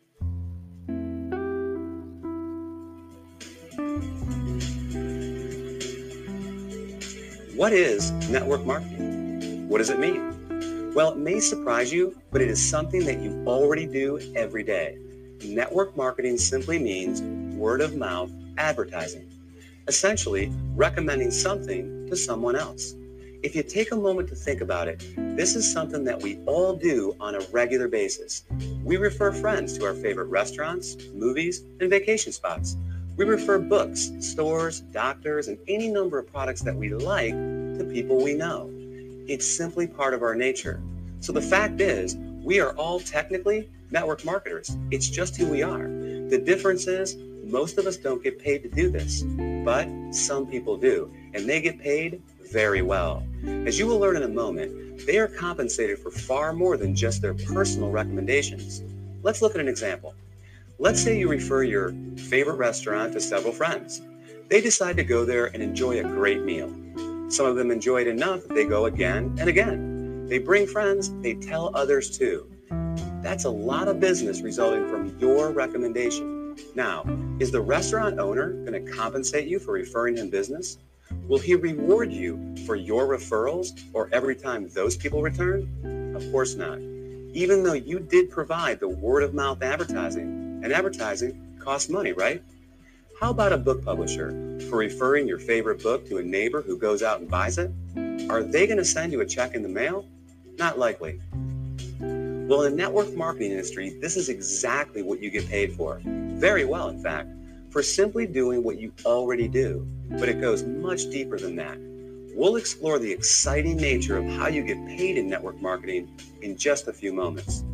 What is network marketing? What does it mean? Well, it may surprise you, but it is something that you already do every day. Network marketing simply means word of mouth advertising, essentially recommending something to someone else. If you take a moment to think about it, this is something that we all do on a regular basis. We refer friends to our favorite restaurants, movies, and vacation spots. We refer books, stores, doctors, and any number of products that we like to people we know. It's simply part of our nature. So the fact is, we are all technically network marketers. It's just who we are. The difference is, most of us don't get paid to do this, but some people do, and they get paid very well. As you will learn in a moment, they are compensated for far more than just their personal recommendations. Let's look at an example. Let's say you refer your favorite restaurant to several friends. They decide to go there and enjoy a great meal. Some of them enjoy it enough that they go again and again. They bring friends, they tell others too. That's a lot of business resulting from your recommendation. Now, is the restaurant owner going to compensate you for referring him business? Will he reward you for your referrals or every time those people return? Of course not. Even though you did provide the word of mouth advertising, and advertising costs money, right? How about a book publisher for referring your favorite book to a neighbor who goes out and buys it? Are they going to send you a check in the mail? Not likely. Well, in the network marketing industry, this is exactly what you get paid for. Very well, in fact, for simply doing what you already do. But it goes much deeper than that. We'll explore the exciting nature of how you get paid in network marketing in just a few moments.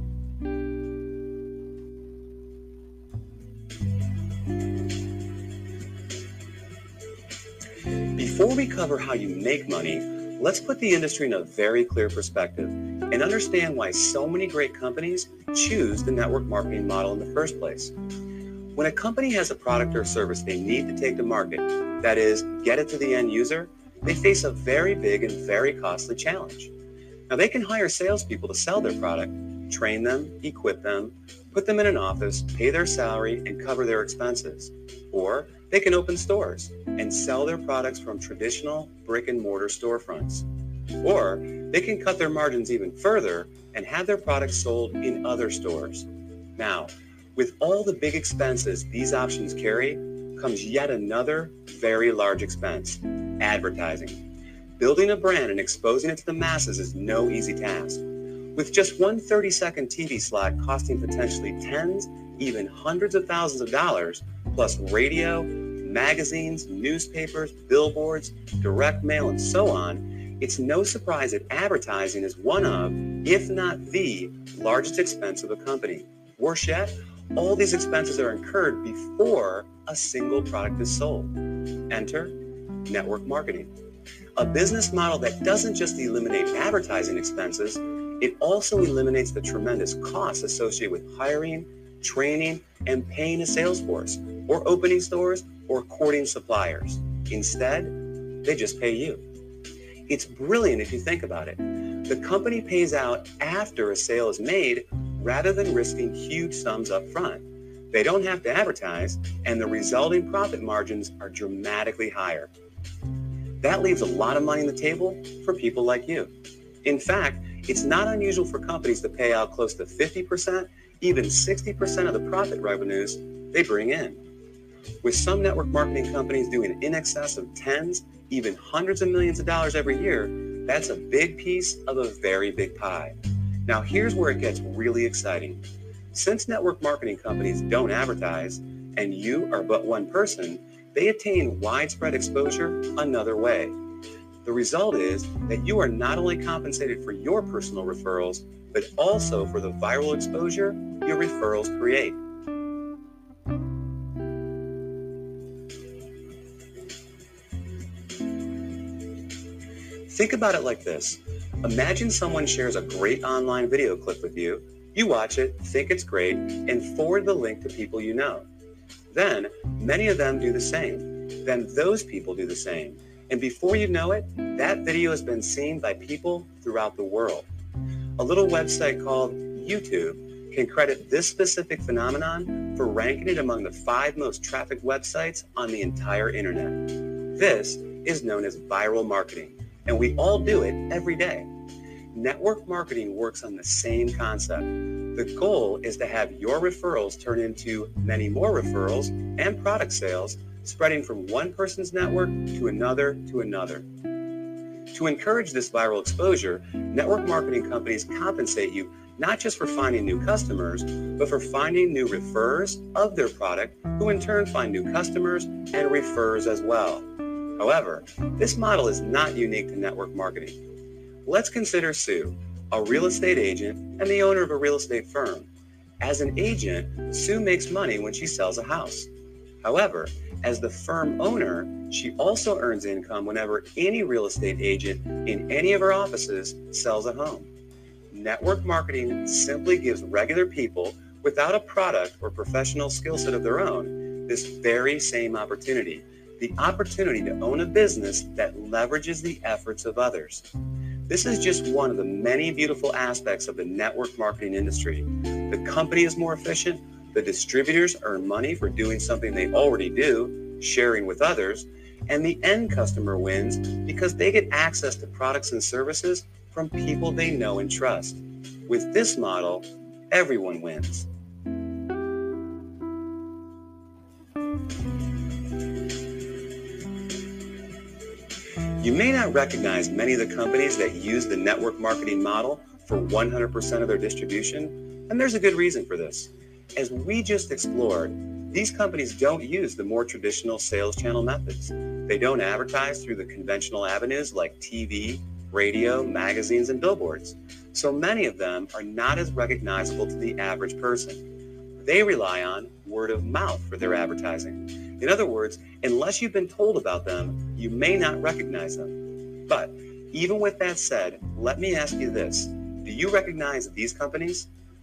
Before we cover how you make money, let's put the industry in a very clear perspective and understand why so many great companies choose the network marketing model in the first place. When a company has a product or service they need to take to market, that is, get it to the end user, they face a very big and very costly challenge. Now, they can hire salespeople to sell their product, train them, equip them, put them in an office, pay their salary, and cover their expenses. Or they can open stores and sell their products from traditional brick and mortar storefronts. Or they can cut their margins even further and have their products sold in other stores. Now, with all the big expenses these options carry, comes yet another very large expense: advertising. Building a brand and exposing it to the masses is no easy task. With just one 30-second TV slot costing potentially tens, even hundreds of thousands of dollars, plus radio, magazines, newspapers, billboards, direct mail, and so on, it's no surprise that advertising is one of, if not the, largest expense of a company. Worse yet, all these expenses are incurred before a single product is sold. Enter network marketing, a business model that doesn't just eliminate advertising expenses, it also eliminates the tremendous costs associated with hiring, training, and paying a sales force, or opening stores, or courting suppliers. Instead, they just pay you. It's brilliant if you think about it. The company pays out after a sale is made rather than risking huge sums up front. They don't have to advertise, and the resulting profit margins are dramatically higher. That leaves a lot of money on the table for people like you. In fact, it's not unusual for companies to pay out close to 50%, even 60% of the profit revenues they bring in. With some network marketing companies doing in excess of tens, even hundreds of millions of dollars every year, that's a big piece of a very big pie. Now, here's where it gets really exciting. Since network marketing companies don't advertise, and you are but one person, they attain widespread exposure another way. The result is that you are not only compensated for your personal referrals, but also for the viral exposure your referrals create. Think about it like this. Imagine someone shares a great online video clip with you, You watch it, think it's great, and forward the link to people you know. Then, many of them do the same. Then those people do the same. And before you know it, that video has been seen by people throughout the world. A little website called YouTube can credit this specific phenomenon for ranking it among the 5 most trafficked websites on the entire internet. This is known as viral marketing, and we all do it every day. Network marketing works on the same concept. The goal is to have your referrals turn into many more referrals and product sales, spreading from one person's network to another to another. To encourage this viral exposure, network marketing companies compensate you not just for finding new customers, but for finding new referrers of their product, who in turn find new customers and referrers as well. However, this model is not unique to network marketing. Let's consider Sue, a real estate agent and the owner of a real estate firm. As an agent, Sue makes money when she sells a house. However, as the firm owner, she also earns income whenever any real estate agent in any of her offices sells a home. Network marketing simply gives regular people without a product or professional skill set of their own this very same opportunity, the opportunity to own a business that leverages the efforts of others. This is just one of the many beautiful aspects of the network marketing industry. The company is more efficient, the distributors earn money for doing something they already do, sharing with others, and the end customer wins because they get access to products and services from people they know and trust. With this model, everyone wins. You may not recognize many of the companies that use the network marketing model for 100% of their distribution, and there's a good reason for this. As we just explored, these companies don't use the more traditional sales channel methods. They don't advertise through the conventional avenues like TV, radio, magazines, and billboards. So many of them are not as recognizable to the average person. They rely on word of mouth for their advertising. In other words, unless you've been told about them, you may not recognize them. But even with that said, let me ask you this. Do you recognize these companies?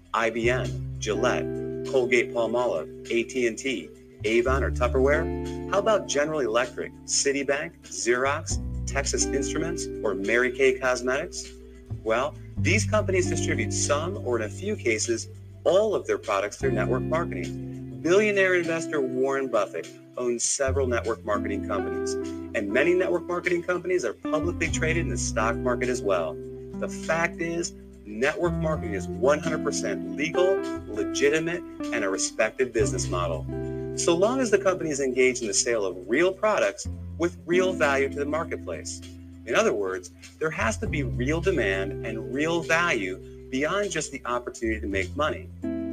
IBM, Gillette, Colgate-Palmolive, AT&T, Avon, or Tupperware? How about General Electric, Citibank, Xerox, Texas Instruments, or Mary Kay Cosmetics? Well, these companies distribute some, or in a few cases, all of their products through network marketing. Billionaire investor Warren Buffett owns several network marketing companies, and many network marketing companies are publicly traded in the stock market as well. The fact is, network marketing is 100% legal, legitimate, and a respected business model. So long as the company is engaged in the sale of real products with real value to the marketplace. In other words, there has to be real demand and real value beyond just the opportunity to make money.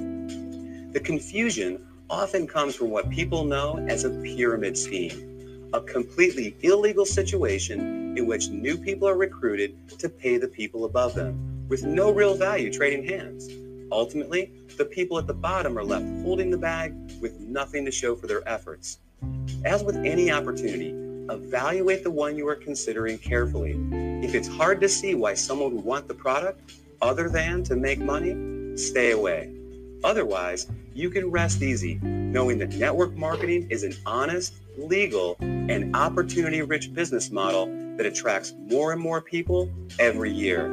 The confusion often comes from what people know as a pyramid scheme, a completely illegal situation in which new people are recruited to pay the people above them, with no real value trading hands. Ultimately, the people at the bottom are left holding the bag with nothing to show for their efforts. As with any opportunity, evaluate the one you are considering carefully. If it's hard to see why someone would want the product other than to make money, stay away. Otherwise, you can rest easy knowing that network marketing is an honest, legal, and opportunity-rich business model that attracts more and more people every year.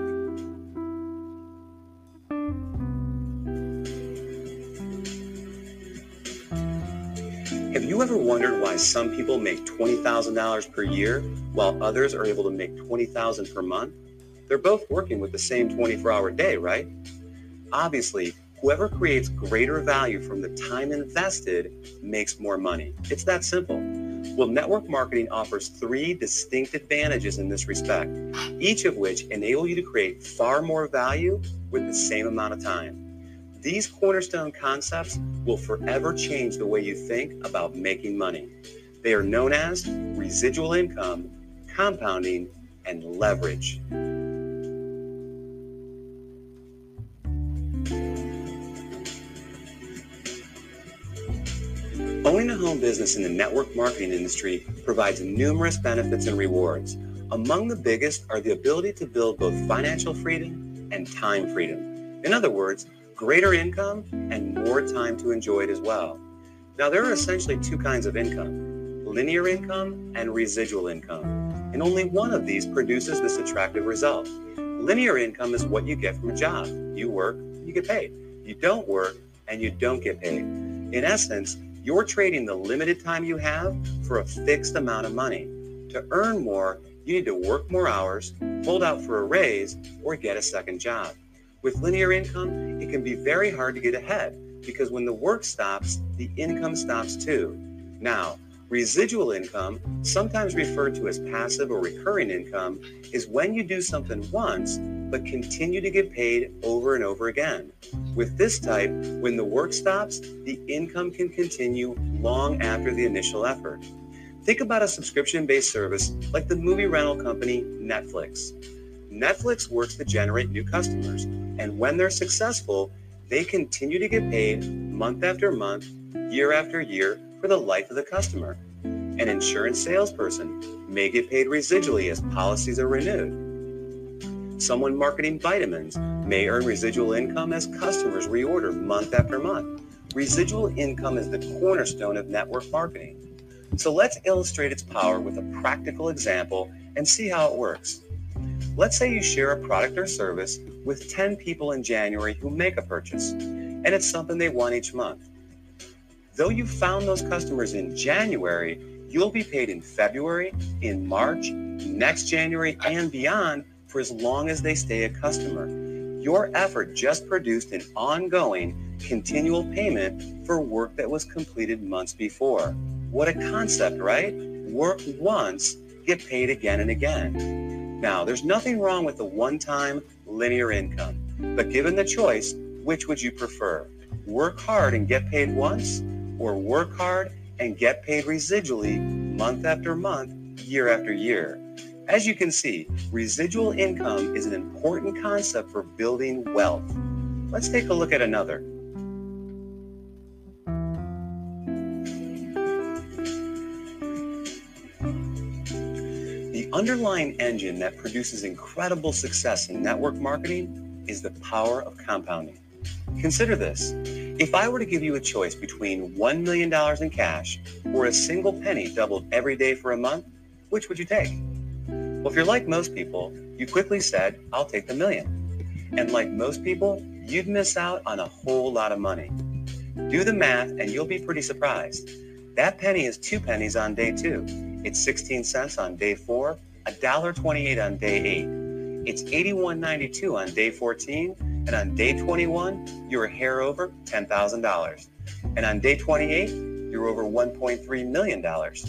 Have you ever wondered why some people make $20,000 per year while others are able to make $20,000 per month? They're both working with the same 24-hour day, right? Obviously, whoever creates greater value from the time invested makes more money. It's that simple. Well, network marketing offers 3 distinct advantages in this respect, each of which enable you to create far more value with the same amount of time. These cornerstone concepts will forever change the way you think about making money. They are known as residual income, compounding, and leverage. Owning a home business in the network marketing industry provides numerous benefits and rewards. Among the biggest are the ability to build both financial freedom and time freedom. In other words, greater income and more time to enjoy it as well. Now, there are essentially two kinds of income: linear income and residual income. And only one of these produces this attractive result. Linear income is what you get from a job. You work, you get paid. You don't work, and you don't get paid. In essence, you're trading the limited time you have for a fixed amount of money. To earn more, you need to work more hours, hold out for a raise, or get a second job. With linear income, it can be very hard to get ahead because when the work stops, the income stops too. Now, residual income, sometimes referred to as passive or recurring income, is when you do something once but continue to get paid over and over again. With this type, when the work stops, the income can continue long after the initial effort. Think about a subscription-based service like the movie rental company Netflix. Netflix works to generate new customers, and when they're successful, they continue to get paid month after month, year after year, for the life of the customer. An insurance salesperson may get paid residually as policies are renewed. Someone marketing vitamins may earn residual income as customers reorder month after month. Residual income is the cornerstone of network marketing. So let's illustrate its power with a practical example and see how it works. Let's say you share a product or service with 10 people in January who make a purchase, and it's something they want each month. Though you found those customers in January, you'll be paid in February, in March, next January, and beyond for as long as they stay a customer. Your effort just produced an ongoing, continual payment for work that was completed months before. What a concept, right? Work once, get paid again and again. Now, there's nothing wrong with the one-time linear income, but given the choice, which would you prefer? Work hard and get paid once, or work hard and get paid residually month after month, year after year? As you can see, residual income is an important concept for building wealth. Let's take a look at another. The underlying engine that produces incredible success in network marketing is the power of compounding. Consider this. If I were to give you a choice between $1 million in cash or a single penny doubled every day for a month, which would you take? Well, if you're like most people, you quickly said, I'll take the million. And like most people, you'd miss out on a whole lot of money. Do the math and you'll be pretty surprised. That penny is 2 pennies on day 2. It's 16 cents on day 4, $1.28 on day 8. It's $81.92 on day 14, and on day 21, you're a hair over $10,000. And on day 28, you're over $1.3 million.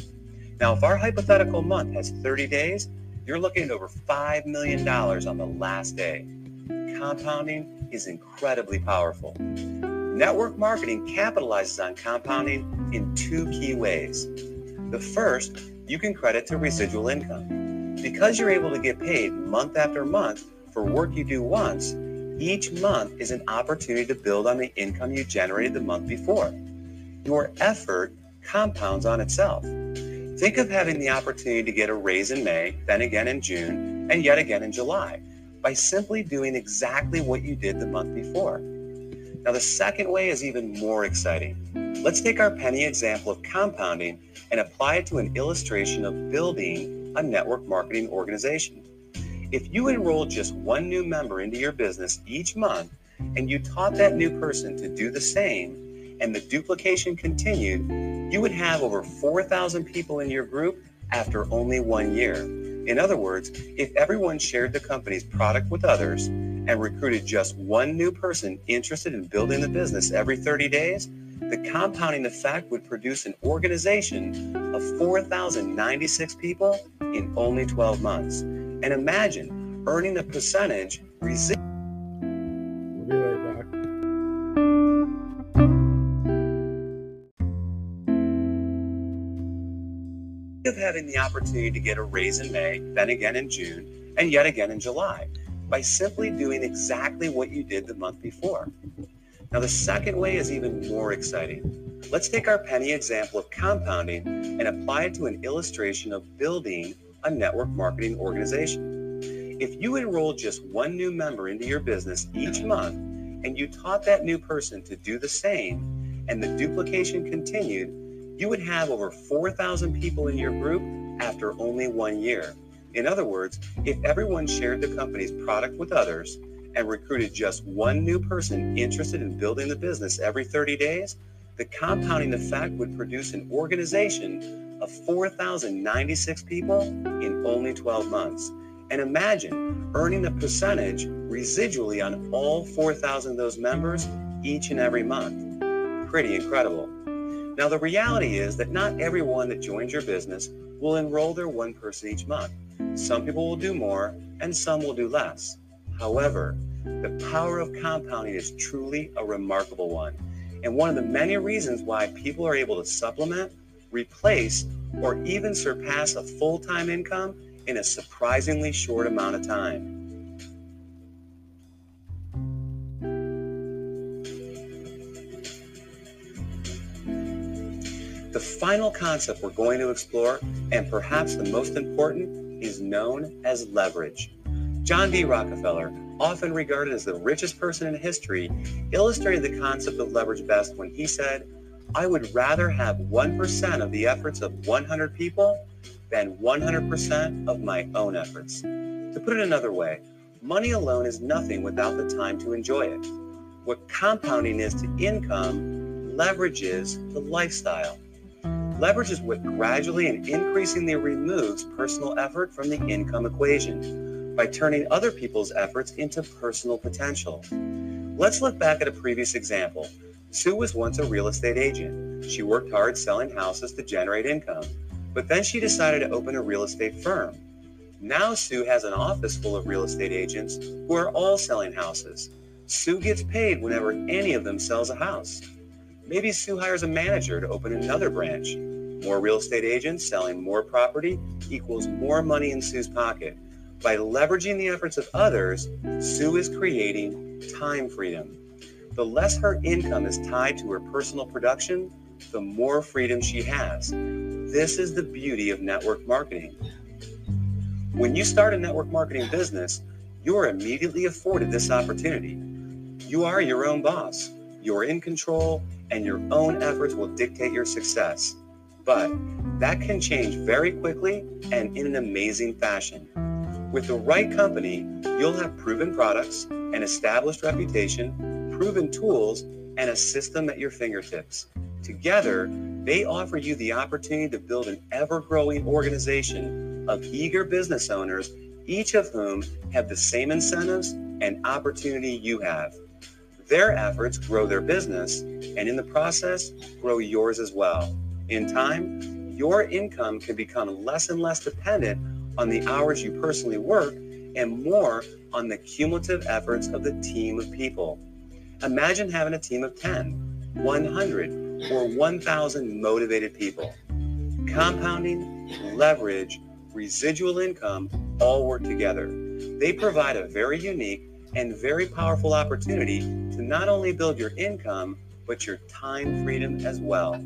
Now, if our hypothetical month has 30 days, you're looking at over $5 million on the last day. Compounding is incredibly powerful. Network marketing capitalizes on compounding in 2 key ways. The first, you can credit to residual income. Because you're able to get paid month after month for work you do once, each month is an opportunity to build on the income you generated the month before. Your effort compounds on itself. Think of having the opportunity to get a raise in May, then again in June, and yet again in July, by simply doing exactly what you did the month before. Now, the second way is even more exciting. Let's take our penny example of compounding and apply it to an illustration of building a network marketing organization. If you enrolled just 1 new member into your business each month, and you taught that new person to do the same, and the duplication continued, you would have over 4,000 people in your group after only 1 year. In other words, if everyone shared the company's product with others and recruited just 1 new person interested in building the business every 30 days, the compounding effect would produce an organization of 4,096 people in only 12 months. And imagine earning a percentage residual.
We'll be right back.
Of having the opportunity to get a raise in May, then again in June, and yet again in July, by simply doing exactly what you did the month before. Now, the second way is even more exciting. Let's take our penny example of compounding and apply it to an illustration of building a network marketing organization. If you enrolled just 1 new member into your business each month, and you taught that new person to do the same, and the duplication continued, you would have over 4,000 people in your group after only 1 year. In other words, if everyone shared the company's product with others and recruited just one new person interested in building the business every 30 days, the compounding effect would produce an organization of 4,096 people in only 12 months. And imagine earning a percentage residually on all 4,000 of those members each and every month. Pretty incredible. Now, the reality is that not everyone that joins your business will enroll their one person each month. Some people will do more and some will do less. However, the power of compounding is truly a remarkable one, and one of the many reasons why people are able to supplement, replace, or even surpass a full-time income in a surprisingly short amount of time. The final concept we're going to explore, and perhaps the most important, is known as leverage. John D. Rockefeller, often regarded as the richest person in history, illustrated the concept of leverage best when he said, "I would rather have 1% of the efforts of 100 people than 100% of my own efforts." To put it another way, money alone is nothing without the time to enjoy it. What compounding is to income, leverage is to lifestyle. Leverage is what gradually and increasingly removes personal effort from the income equation by turning other people's efforts into personal potential. Let's look back at a previous example. Sue was once a real estate agent. She worked hard selling houses to generate income, but then she decided to open a real estate firm. Now Sue has an office full of real estate agents who are all selling houses. Sue gets paid whenever any of them sells a house. Maybe Sue hires a manager to open another branch. More real estate agents selling more property equals more money in Sue's pocket. By leveraging the efforts of others, Sue is creating time freedom. The less her income is tied to her personal production, the more freedom she has. This is the beauty of network marketing. When you start a network marketing business, you're immediately afforded this opportunity. You are your own boss. You're in control, and your own efforts will dictate your success. But that can change very quickly and in an amazing fashion. With the right company, you'll have proven products, an established reputation, proven tools, and a system at your fingertips. Together, they offer you the opportunity to build an ever-growing organization of eager business owners, each of whom have the same incentives and opportunity you have. Their efforts grow their business, and in the process, grow yours as well. In time, your income can become less and less dependent on the hours you personally work and more on the cumulative efforts of the team of people. Imagine having a team of 10, 100, or 1,000 motivated people. Compounding, leverage, residual income all work together. They provide a very unique and very powerful opportunity to not only build your income, but your time freedom as well.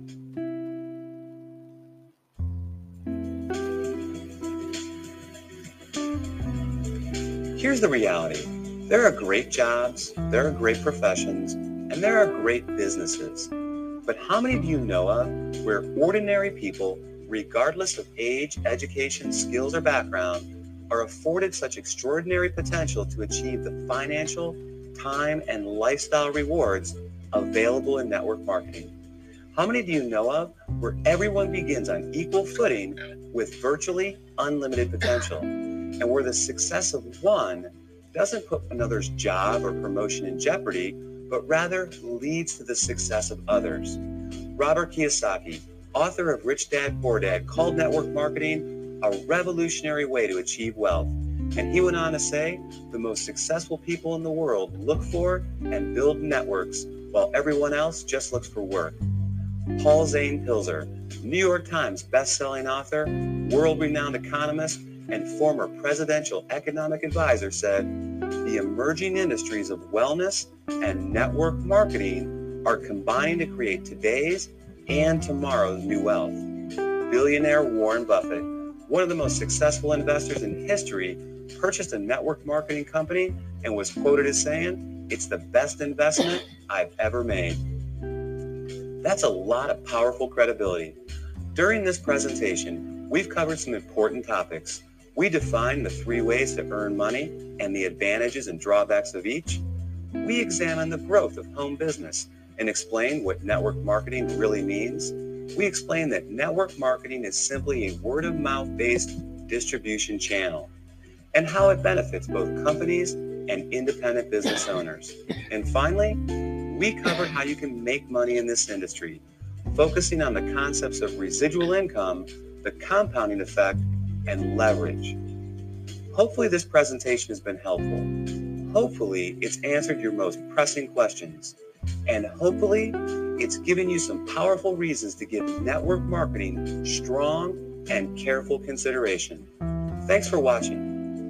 Here's the reality. There are great jobs, there are great professions, and there are great businesses. But how many do you know of where ordinary people, regardless of age, education, skills, or background, are afforded such extraordinary potential to achieve the financial, time, and lifestyle rewards available in network marketing? How many do you know of where everyone begins on equal footing with virtually unlimited potential, and where the success of one doesn't put another's job or promotion in jeopardy, but rather leads to the success of others? Robert Kiyosaki, author of Rich Dad, Poor Dad, called network marketing a revolutionary way to achieve wealth. And he went on to say, the most successful people in the world look for and build networks, while everyone else just looks for work. Paul Zane Pilzer, New York Times best-selling author, world-renowned economist, and former presidential economic advisor, said, the emerging industries of wellness and network marketing are combining to create today's and tomorrow's new wealth. Billionaire Warren Buffett, one of the most successful investors in history, purchased a network marketing company and was quoted as saying, it's the best investment I've ever made. That's a lot of powerful credibility. During this presentation, we've covered some important topics. We defined the 3 ways to earn money and the advantages and drawbacks of each. We examined the growth of home business and explained what network marketing really means. We explained that network marketing is simply a word-of-mouth based distribution channel and how it benefits both companies and independent business owners. And finally, we covered how you can make money in this industry, focusing on the concepts of residual income, the compounding effect, and leverage. Hopefully this presentation has been helpful. Hopefully it's answered your most pressing questions. And hopefully it's given you some powerful reasons to give network marketing strong and careful consideration. Thanks for watching.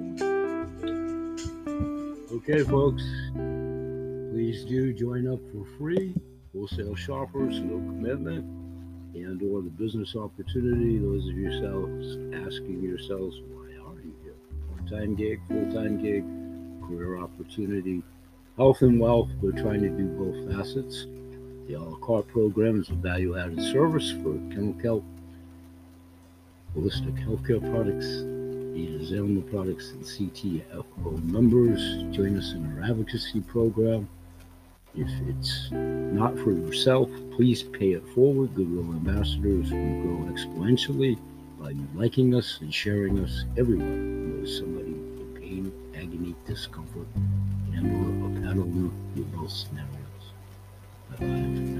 Okay, folks, please do join up for free. Wholesale shoppers, no commitment, and or the business opportunity. Those of yourselves asking yourselves, why are you here? Part-time gig, full-time gig, career opportunity, health and wealth. We're trying to do both facets. The a la carte program is a value-added service for chemical, holistic healthcare products, Zilma products, and CTFO members. Join us in our advocacy program. If it's not for yourself, please pay it forward. Goodwill ambassadors will grow exponentially by you liking us and sharing us. Everyone knows somebody with pain, agony, discomfort, and or a pattern in both scenarios. Bye-bye.